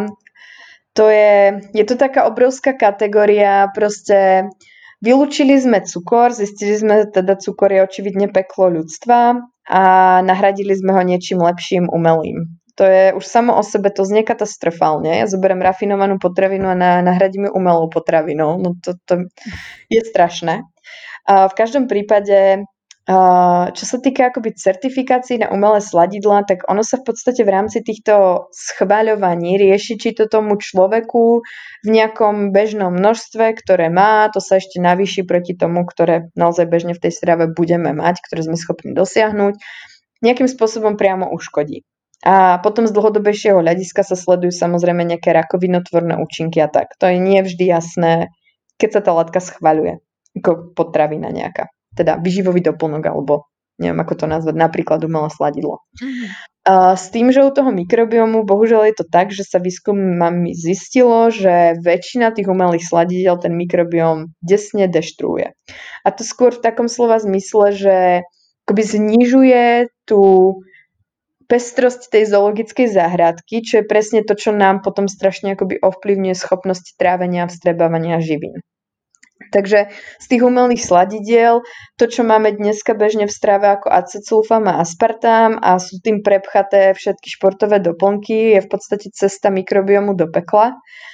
S2: to je, je to taká obrovská kategória, proste vylúčili sme cukor, zistili sme, teda cukor je očividne peklo ľudstva a nahradili sme ho niečím lepším, umelým. To je už samo o sebe, to znie katastrofálne. Ja zoberiem rafinovanú potravinu a na, nahradím ju umelou potravinou. No to, to je strašné. A v každom prípade Uh, čo sa týka akoby certifikácií na umelé sladidlá, tak ono sa v podstate v rámci týchto schvaľovaní rieši, či to tomu človeku v nejakom bežnom množstve, ktoré má, to sa ešte navýši proti tomu, ktoré naozaj bežne v tej strave budeme mať, ktoré sme schopní dosiahnuť, nejakým spôsobom priamo uškodí. A potom z dlhodobejšieho hľadiska sa sledujú samozrejme nejaké rakovinotvorné účinky a tak. To je nie vždy jasné, keď sa tá látka schvaľuje, ako potravina nejaká. Teda výživový doplnok, alebo neviem, ako to nazvať, napríklad umelé sladidlo. Mm-hmm. Uh, s tým, že u toho mikrobiomu, bohužiaľ je to tak, že sa výskumami zistilo, že väčšina tých umelých sladidiel ten mikrobióm desne deštruuje. A to skôr v takom slova zmysle, že akoby znižuje tú pestrosť tej zoologickej záhradky, čo je presne to, čo nám potom strašne akoby ovplyvňuje schopnosti trávenia a vstrebávania živín. Takže z tých umelých sladidiel, to, čo máme dneska bežne v strave ako acesulfam a aspartám a sú tým prepchaté všetky športové doplnky, je v podstate cesta mikrobiomu do pekla.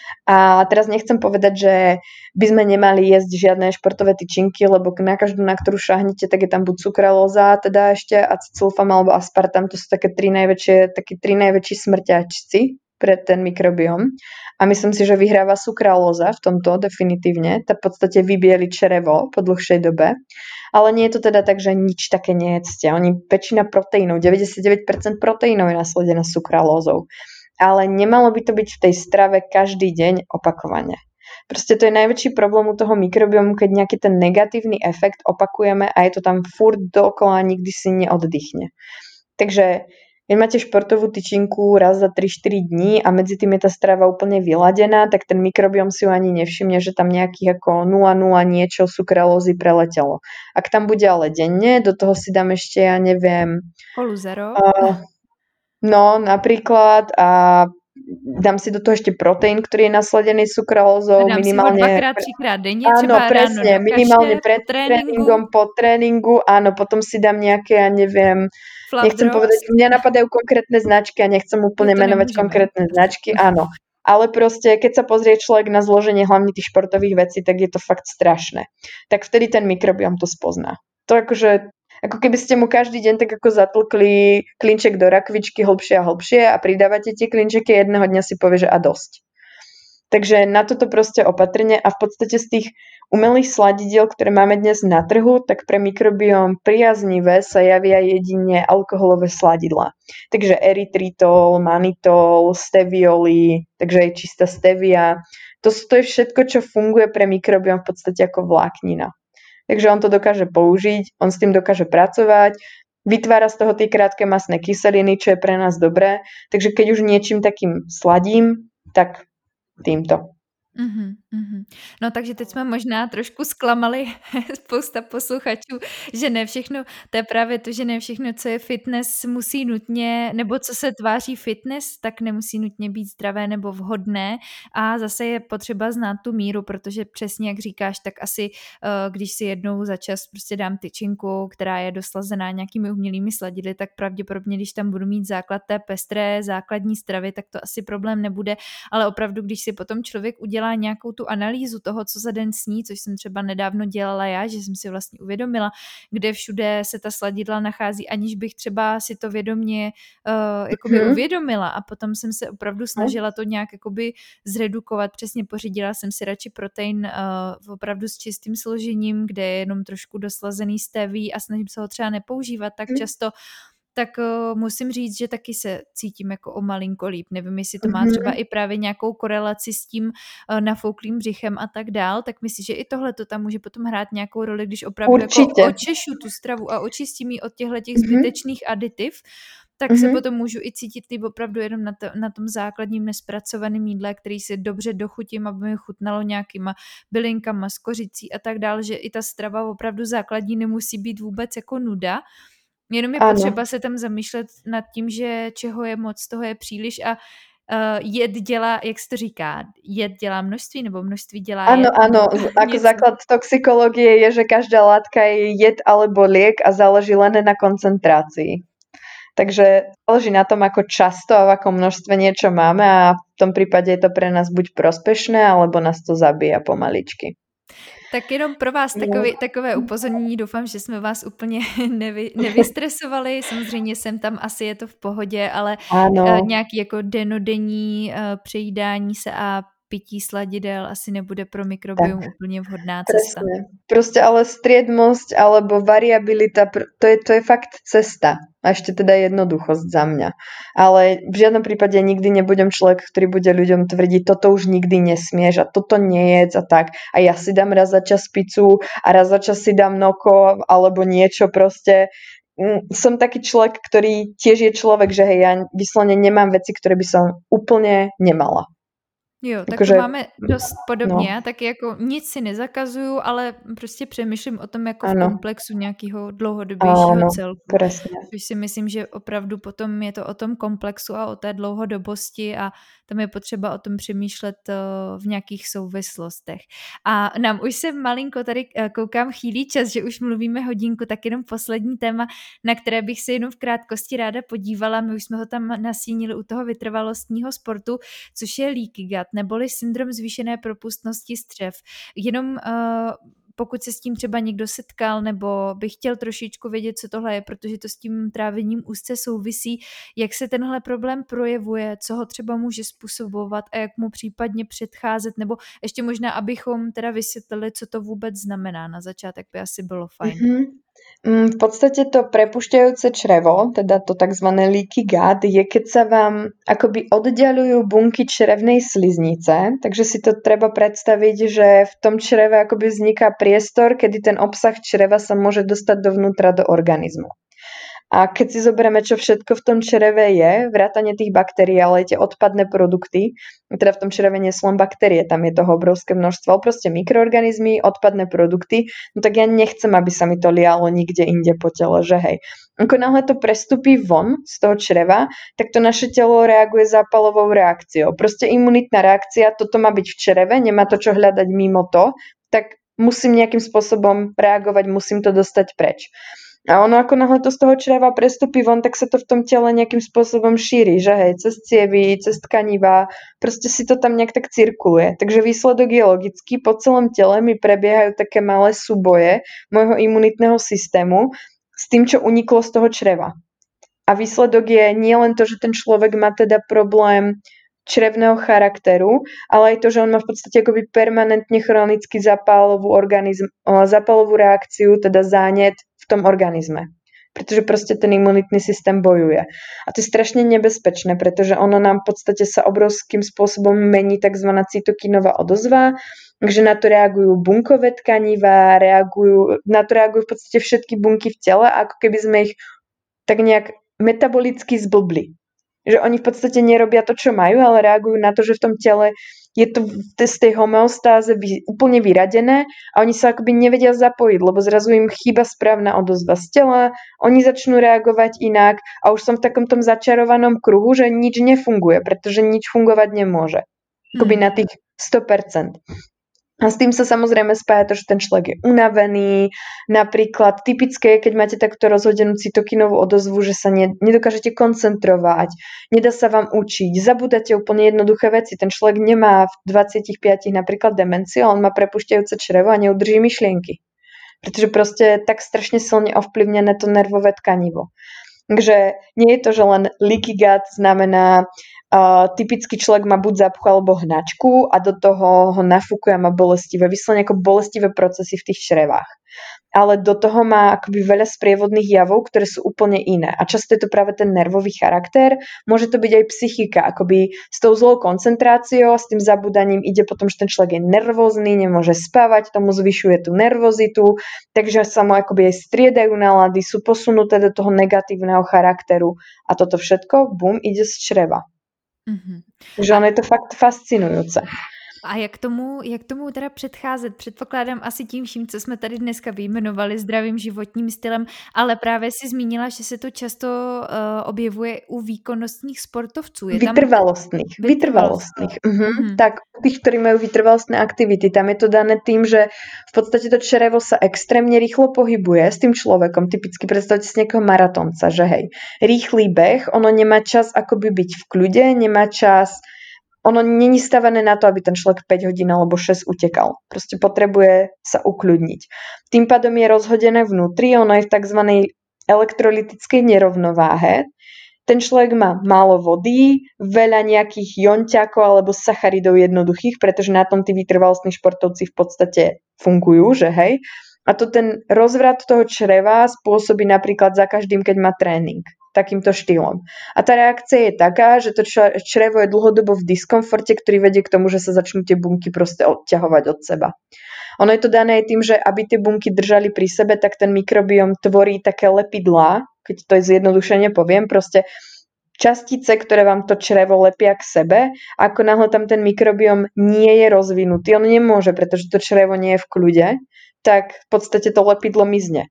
S2: A teraz nechcem povedať, že by sme nemali jesť žiadne športové tyčinky, lebo na každú, na ktorú šahnete, tak je tam buď sukralóza, teda ešte acesulfam alebo aspartam, to sú také tri najväčšie, také tri najväčší smrťačci pre ten mikrobióm. A myslím si, že vyhráva sukralóza v tomto definitívne. Tá v podstate vybieli črevo po dlhšej dobe. Ale nie je to teda tak, že nič také nejedzte. Oni väčšina proteínov, deväťdesiatdeväť percent proteínov je nasledená sukralózou. Ale nemalo by to byť v tej strave každý deň opakovane. Proste to je najväčší problém u toho mikrobiomu, keď nejaký ten negatívny efekt opakujeme a je to tam furt dookola, nikdy si neoddychne. Takže keď máte športovú tyčinku raz za tri štyri dní a medzi tým je tá strava úplne vyladená, tak ten mikrobióm si ju ani nevšimne, že tam nejakých ako nula nula niečo sukralózy preletelo. Ak tam bude ale denne, do toho si dám ešte, ja neviem...
S1: Poluzero.
S2: Uh, no, napríklad a dám si do toho ešte proteín, ktorý je nasledený sukralózou.
S1: Dám
S2: minimálne...
S1: si ho dvakrát, třikrát denně,
S2: áno,
S1: třeba
S2: presne,
S1: ráno do
S2: minimálne
S1: kaše,
S2: pred
S1: po tréninku.
S2: tréningom, po tréningu, áno, potom si dám nejaké, ja neviem...
S1: Flap
S2: Nechcem
S1: drops.
S2: povedať, mňa napadajú konkrétne značky a nechcem úplne
S1: no
S2: menovať
S1: nemôžeme.
S2: konkrétne značky, áno. Ale proste, keď sa pozrie človek na zloženie hlavne tých športových vecí, tak je to fakt strašné. Tak vtedy ten mikrobióm to spozná. To akože, ako keby ste mu každý deň tak ako zatlkli klinček do rakvičky hlbšie a hlbšie a pridávate tie klinčeky, jedného dňa si povie, že a dosť. Takže na toto proste opatrne a v podstate z tých umelých sladidiel, ktoré máme dnes na trhu, tak pre mikrobióm priaznivé sa javia jedine alkoholové sladidlá. Takže erytritol, manitol, stevioli, takže aj čistá stevia. To, to je všetko, čo funguje pre mikrobióm v podstate ako vláknina. Takže on to dokáže použiť, on s tým dokáže pracovať, vytvára z toho tie krátke mastné kyseliny, čo je pre nás dobré. Takže keď už niečím takým sladím, tak týmto.
S1: Uhum, uhum. No takže teď jsme možná trošku zklamali spousta posluchačů, že ne všechno, to je právě to, že ne všechno, co je fitness, musí nutně, nebo co se tváří fitness, tak nemusí nutně být zdravé nebo vhodné a zase je potřeba znát tu míru, protože přesně jak říkáš, tak asi když si jednou za čas prostě dám tyčinku, která je doslazená nějakými umělými sladidly, tak pravděpodobně, když tam budu mít základ té pestré základní stravy, tak to asi problém nebude, ale opravdu, když si potom člověk udělá nějakou tu analýzu toho, co za den sní, což jsem třeba nedávno dělala já, že jsem si vlastně uvědomila, kde všude se ta sladidla nachází, aniž bych třeba si to vědomě uh, jakoby mm-hmm. uvědomila a potom jsem se opravdu snažila to nějak jakoby zredukovat, přesně pořídila jsem si radši protein uh, opravdu s čistým složením, kde je jenom trošku doslazený steví a snažím se ho třeba nepoužívat tak mm. často, tak uh, musím říct, že taky se cítím jako o malinko líp. Nevím, jestli to má třeba i právě nějakou korelaci s tím uh, nafouklým břichem a tak dál, tak myslím, že i tohle to tam může potom hrát nějakou roli, když opravdu jako očešu tu stravu a očistím ji od těchto těch zbytečných aditiv, tak mm-hmm. se potom můžu i cítit líp opravdu jenom na, to, na tom základním nespracovaném jídle, který si dobře dochutím, aby mi chutnalo nějakýma bylinkama, s kořicí a tak dál, že i ta strava opravdu základní nemusí být vůbec jako nuda. Jenom je ano. potřeba se tam zamýšlet nad tím, že čeho je moc, toho je příliš a uh, jed dělá, jak se to říká, jed dělá množství nebo množství dělá
S2: ano,
S1: jed?
S2: Áno, áno, ako základ toxikológie je, že každá látka je jed alebo liek a záleží len na koncentrácii. Takže záleží na tom, ako často a v akom množstve niečo máme a v tom prípade je to pre nás buď prospešné, alebo nás to zabíja pomaličky.
S1: Tak jenom pro vás takový, takové upozornění, doufám, že jsme vás úplně nevy, nevystresovali, samozřejmě sem tam asi je to v pohodě, ale
S2: Áno.
S1: nějaký jako denodenní přejídání se a pití sladidel asi nebude pro mikrobiom tak, úplně vhodná cesta.
S2: Presne. Proste ale striedmosť alebo variabilita, to je, to je fakt cesta. A ešte teda jednoduchosť za mňa. Ale v žiadnom prípade nikdy nebudem človek, ktorý bude ľuďom tvrdiť, toto už nikdy nesmieš a toto nejedz a tak. A ja si dám raz za čas pizzu a raz za čas si dám noko alebo niečo proste. Som taký človek, ktorý tiež je človek, že hej, ja vyslovene nemám veci, ktoré by som úplne nemala.
S1: Jo, tak to máme dost podobně, no. Taky jako nic si nezakazuju, ale prostě přemýšlím o tom jako ano. v komplexu nějakého dlouhodobějšího ano, celku.
S2: Presne.
S1: Což si myslím, že opravdu potom je to o tom komplexu a o té dlouhodobosti a tam je potřeba o tom přemýšlet v nějakých souvislostech. A nám už se malinko tady koukám chýlí čas, že už mluvíme hodinku, tak jenom poslední téma, na které bych se jenom v krátkosti ráda podívala. My už jsme ho tam nasínili u toho vytrvalostního sportu, což je leaky gut, neboli syndrom zvýšené propustnosti střev. Jenom uh, pokud se s tím třeba někdo setkal nebo by chtěl trošičku vědět, co tohle je, protože to s tím trávením úzce souvisí, jak se tenhle problém projevuje, co ho třeba může způsobovat a jak mu případně předcházet, nebo ještě možná, abychom teda vysvětlili, co to vůbec znamená. Na začátek by asi bylo fajn. Mm-hmm.
S2: V podstate to prepušťajúce črevo, teda to tzv. Leaky gut, je keď sa vám akoby oddialujú bunky črevnej sliznice, takže si to treba predstaviť, že v tom čreve akoby vzniká priestor, kedy ten obsah čreva sa môže dostať dovnútra do organizmu. A keď si zoberieme, čo všetko v tom čreve je, vrátane tých baktérií, ale aj tie odpadné produkty, teda v tom čreve nie sú len baktérie, tam je toho obrovské množstvo, ale proste mikroorganizmy, odpadné produkty, no tak ja nechcem, aby sa mi to lialo nikde inde po tele, že hej. Ako náhle to prestupí von z toho čreva, tak to naše telo reaguje zápalovou reakciou. Proste imunitná reakcia, toto má byť v čreve, nemá to čo hľadať mimo to, tak musím nejakým spôsobom reagovať, musím to dostať preč. A ono ako náhle to z toho čreva prestupí von, tak sa to v tom tele nejakým spôsobom šíri, že hej, cez cievy, cez tkanivá, proste si to tam nejak tak cirkuluje. Takže výsledok je logický, po celom tele mi prebiehajú také malé súboje môjho imunitného systému s tým, čo uniklo z toho čreva. A výsledok je nie len to, že ten človek má teda problém črevného charakteru, ale aj to, že on má v podstate akoby permanentne chronicky zapálovú organizm, zapálovú reakciu, teda zánet v tom organizme. Pretože proste ten imunitný systém bojuje. A to je strašne nebezpečné, pretože ono nám v podstate sa obrovským spôsobom mení tzv. Cytokinová odozva, takže na to reagujú bunkové tkanivá, reagujú, na to reagujú v podstate všetky bunky v tele, ako keby sme ich tak nejak metabolicky zblbli. Že oni v podstate nerobia to, čo majú, ale reagujú na to, že v tom tele je to z tej homeostáze úplne vyradené a oni sa akoby nevedia zapojiť, lebo zrazu im chýba správna odozva z tela, oni začnú reagovať inak a už som v takom tom začarovanom kruhu, že nič nefunguje, pretože nič fungovať nemôže. Akoby na tých sto percent. A s tým sa samozrejme spája to, že ten človek je unavený. Napríklad typické je, keď máte takto rozhodenú cytokinovú odozvu, že sa ne, nedokážete koncentrovať, nedá sa vám učiť, zabúdate úplne jednoduché veci. Ten človek nemá v dvadsiatich piatich napríklad demenciu, on má prepušťajúce črevo a neudrží myšlienky. Pretože proste je tak strašne silne ovplyvnené to nervové tkanivo. Takže nie je to, že len leaky gut znamená Uh, typický človek má buď zápchu alebo hnačku a do toho ho nafúkuje a má bolestivé, vyslovene ako bolestivé procesy v tých črevách. Ale do toho má akoby veľa sprievodných javov, ktoré sú úplne iné. A často je to práve ten nervový charakter. Môže to byť aj psychika, akoby s tou zlou koncentráciou, s tým zabúdaním ide potom, že ten človek je nervózny, nemôže spávať, tomu zvyšuje tú nervozitu, takže sa mu akoby aj striedajú nálady, sú posunuté do toho negatívneho charakteru a toto všetko, bum, ide z čreva. Mm-hmm. Takže ono je to fakt fascinujúce.
S1: A jak tomu, jak tomu teda předcházet? Předpokládám asi tím vším, co jsme tady dneska vyjmenovali, zdravým životním stylem, ale právě si zmínila, že se to často uh, objevuje u výkonnostních sportovců. Je
S2: vytrvalostných. Tam... Vytrvalostných. Uh-huh. Uh-huh. Tak tých, ktorí majú vytrvalostné aktivity, tam je to dané tým, že v podstate to črevo sa extrémne rýchlo pohybuje s tým človekom. Typicky predstavte si nejakého maratónca, že hej, rýchly beh, ono nemá čas akoby byť v kľude, nemá čas ono není stavené na to, aby ten človek päť hodín alebo šesť utekal. Proste potrebuje sa ukľudniť. Tým pádom je rozhodené vnútri, ono je v tzv. Elektrolytickej nerovnováhe. Ten človek má málo vody, veľa nejakých jonťakov alebo sacharidov jednoduchých, pretože na tom tí vytrvalostní športovci v podstate fungujú, že hej. A to ten rozvrat toho čreva spôsobí napríklad za každým, keď má tréning. Takýmto štýlom. A tá reakcia je taká, že to črevo je dlhodobo v diskomforte, ktorý vedie k tomu, že sa začnú tie bunky proste odťahovať od seba. Ono je to dané aj tým, že aby tie bunky držali pri sebe, tak ten mikrobióm tvorí také lepidlá, keď to je zjednodušene poviem, proste častice, ktoré vám to črevo lepia k sebe, ako náhle tam ten mikrobióm nie je rozvinutý, on nemôže, pretože to črevo nie je v kľude, tak v podstate to lepidlo mizne.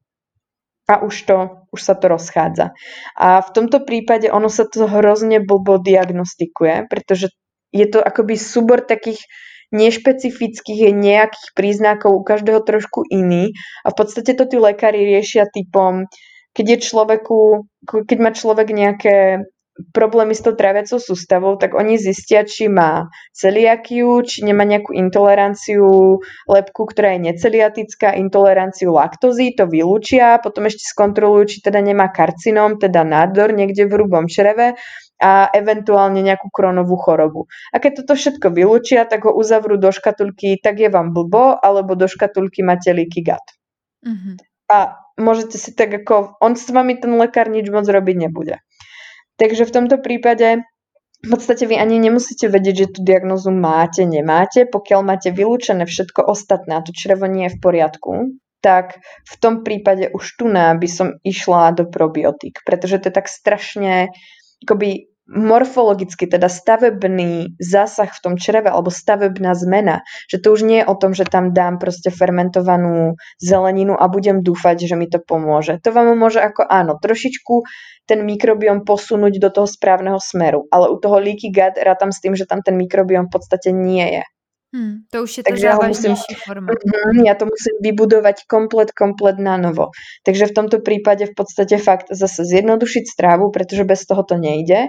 S2: A už, to, už sa to rozchádza. A v tomto prípade ono sa to hrozne blbo diagnostikuje, pretože je to akoby súbor takých nešpecifických nejakých príznakov, u každého trošku iný. A v podstate to tí lekári riešia typom, keď je človeku, keď má človek nejaké problémy s tou tráviacou sústavou, tak oni zistia, či má celiakiu, či nemá nejakú intoleranciu lepku, ktorá je neceliatická, intoleranciu laktózy, to vylúčia, potom ešte skontrolujú, či teda nemá karcinóm, teda nádor niekde v hrubom čreve a eventuálne nejakú kronovú chorobu. A keď toto všetko vylúčia, tak ho uzavrú do škatulky, tak je vám blbo, alebo do škatulky máte leaky gut. Mm-hmm. A môžete si tak ako, on s vami ten lekár nič moc robiť nebude. Takže v tomto prípade v podstate vy ani nemusíte vedieť, že tú diagnózu máte, nemáte. Pokiaľ máte vylúčené všetko ostatné a to črevo nie je v poriadku, tak v tom prípade už tu by som išla do probiotík, pretože to je tak strašne akoby morfologicky, teda stavebný zásah v tom čreve alebo stavebná zmena, že to už nie je o tom, že tam dám proste fermentovanú zeleninu a budem dúfať, že mi to pomôže. To vám môže ako áno, trošičku ten mikrobióm posunúť do toho správneho smeru, ale u toho leaky gut rátam s tým, že tam ten mikrobióm v podstate nie je.
S1: Hmm, to už je ta závažnější forma.
S2: Uh, ja to musím vybudovať komplet, komplet na novo. Takže v tomto prípade v podstate fakt zase zjednodušiť strávu, pretože bez toho to nejde.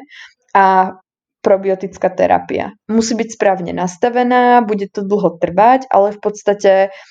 S2: A probiotická terapia. Musí byť správne nastavená, bude to dlho trvať, ale v podstate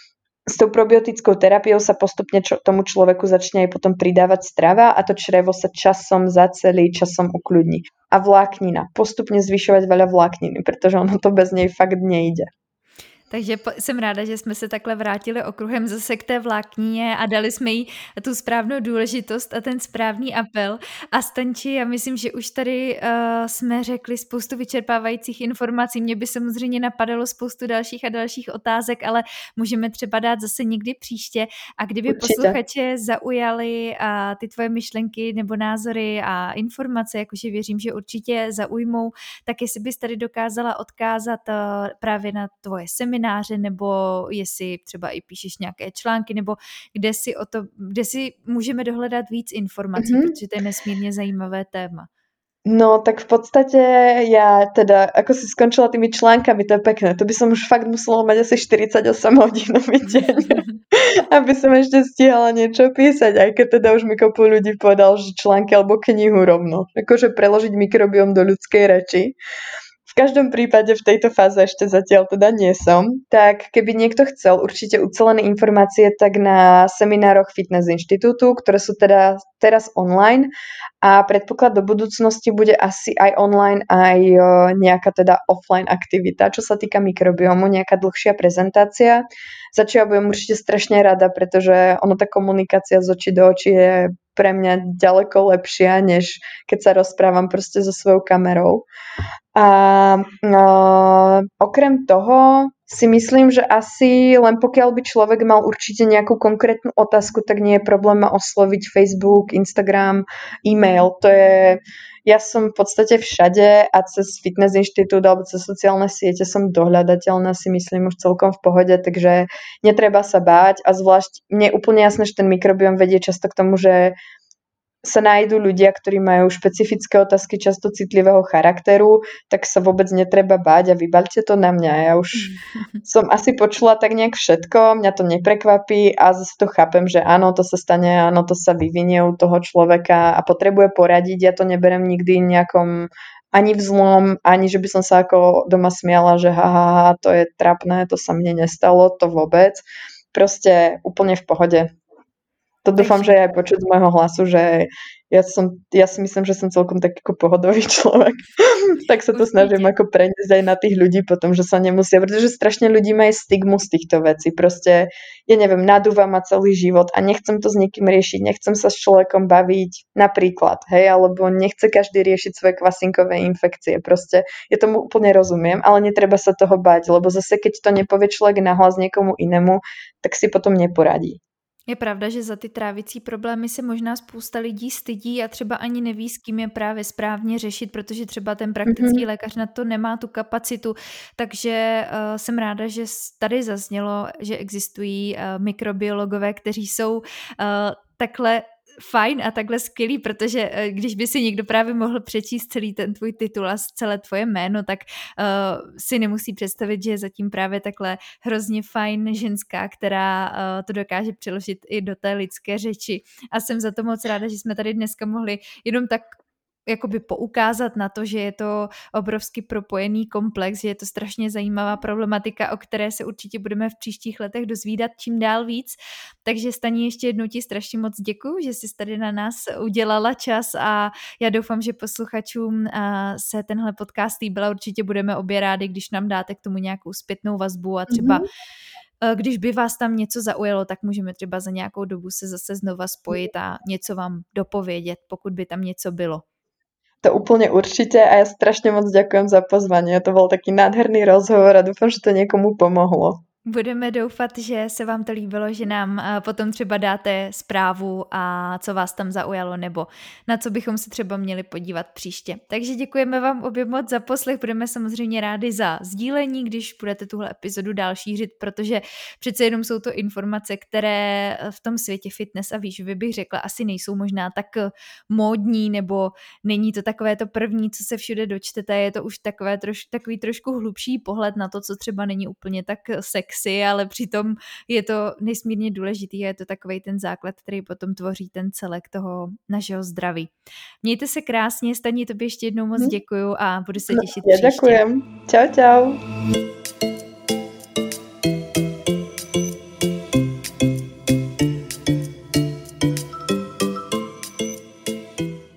S2: s tou probiotickou terapiou sa postupne čo, tomu človeku začne aj potom pridávať strava a to črevo sa časom zacelí, časom ukľudní. A vláknina. Postupne zvyšovať veľa vlákniny, pretože ono to bez nej fakt nejde.
S1: Takže jsem ráda, že jsme se takhle vrátili okruhem zase k té vláknině a dali jsme jí tu správnou důležitost a ten správný apel. A Stanči, já myslím, že už tady uh, jsme řekli spoustu vyčerpávajících informací. Mě by samozřejmě napadalo spoustu dalších a dalších otázek, ale můžeme třeba dát zase někdy příště. A kdyby Určitě. posluchače zaujaly uh, ty tvoje myšlenky nebo názory a informace, jakože věřím, že určitě zaujmou, tak jestli bys tady dokázala odkázat uh, právě na tvoje semináře, nebo jestli třeba i píšeš nějaké články, nebo kde si, o to, kde si můžeme dohledat víc informací, mm-hmm. protože to je nesmírně zajímavé téma.
S2: No, tak v podstate ja teda, ako si skončila tými článkami, to je pekné. To by som už fakt musela mať asi štyridsaťosem hodinový deň, aby som ešte stihala niečo písať, aj keď teda už mi kopu ľudí povedal, že články alebo knihu rovno. Akože preložiť mikrobióm do ľudskej reči. V každom prípade v tejto fáze ešte zatiaľ teda nie som. Tak keby niekto chcel určite ucelené informácie, tak na seminároch Fitness Inštitútu, ktoré sú teda teraz online a predpoklad do budúcnosti bude asi aj online, aj nejaká teda offline aktivita, čo sa týka mikrobiomu, nejaká dlhšia prezentácia. Za čo ja budem určite strašne rada, pretože ono tá komunikácia z očí do očí je pre mňa ďaleko lepšia, než keď sa rozprávam proste so svojou kamerou. A no, okrem toho si myslím, že asi len pokiaľ by človek mal určite nejakú konkrétnu otázku, tak nie je problém ma osloviť Facebook, Instagram, e-mail. To je, ja som v podstate všade a cez Fitness Inštitút alebo cez sociálne siete som dohľadateľná, si myslím už celkom v pohode, takže netreba sa báť a zvlášť mne je úplne jasné, že ten mikrobióm vedie často k tomu, že sa nájdú ľudia, ktorí majú špecifické otázky často citlivého charakteru, tak sa vôbec netreba báť a vybaľte to na mňa. Ja už som asi počula tak nejak všetko, mňa to neprekvapí a zase to chápem, že áno, to sa stane, áno, to sa vyvinie u toho človeka a potrebuje poradiť. Ja to neberem nikdy nejakom ani vzlom, ani že by som sa ako doma smiala, že ha, ha, ha, to je trapné, to sa mne nestalo, to vôbec. Proste úplne v pohode. To dúfam, že je aj počuť z môjho hlasu, že ja, som, ja si myslím, že som celkom taký ako pohodový človek. Tak sa to
S1: Určite.
S2: snažím ako preniesť aj na tých ľudí potom, že sa nemusia, pretože strašne ľudí má aj stigmu z týchto vecí. Proste, ja neviem, nadúva ma celý život a nechcem to s nikým riešiť, nechcem sa s človekom baviť napríklad, hej, alebo nechce každý riešiť svoje kvasinkové infekcie. Proste, ja tomu úplne rozumiem, ale netreba sa toho bať, lebo zase keď to nepovie človek nahlas niekomu inému, tak si potom neporadí.
S1: Je pravda, že za ty trávicí problémy se možná spousta lidí stydí a třeba ani neví, s kým je právě správně řešit, protože třeba ten praktický
S2: Mhm.
S1: lékař na to nemá tu kapacitu. Takže uh, jsem ráda, že tady zaznělo, že existují uh, mikrobiologové, kteří jsou uh, takhle fajn a takhle skvělý, protože uh, když by si někdo právě mohl přečíst celý ten tvůj titul a celé tvoje jméno, tak uh, si nemusí představit, že je zatím právě takhle hrozně fajn ženská, která uh, to dokáže přeložit i do té lidské řeči. A jsem za to moc ráda, že jsme tady dneska mohli jenom tak jakoby poukázat na to, že je to obrovsky propojený komplex, že je to strašně zajímavá problematika, o které se určitě budeme v příštích letech dozvídat čím dál víc. Takže Staní, ještě jednou ti strašně moc děkuju, že jsi tady na nás udělala čas a já doufám, že posluchačům se tenhle podcast líbil. Určitě budeme obě rádi, když nám dáte k tomu nějakou zpětnou vazbu a třeba mm-hmm. když by vás tam něco zaujalo, tak můžeme třeba za nějakou dobu se zase znova spojit a něco vám dopovědět, pokud by tam něco bylo.
S2: To úplne určite a ja strašne moc ďakujem za pozvanie. To bol taký nádherný rozhovor a dúfam, že to niekomu pomohlo.
S1: Budeme doufat, že se vám to líbilo, že nám potom třeba dáte zprávu a co vás tam zaujalo nebo na co bychom se třeba měli podívat příště. Takže děkujeme vám obě moc za poslech, budeme samozřejmě rádi za sdílení, když budete tuhle epizodu dál šířit, protože přece jenom jsou to informace, které v tom světě fitness a výživy bych řekla asi nejsou možná tak módní nebo není to takové to první, co se všude dočtete, je to už takové troš, takový trošku hlubší pohled na to, co třeba není úplně tak sexy, ale přitom je to nesmírně důležitý a je to takovej ten základ, který potom tvoří ten celek toho našeho zdraví. Mějte se krásně, Staní, tobě ještě jednou moc děkuju a budu se těšit
S2: no, ja
S1: příště.
S2: Ďakujem. Čau, čau.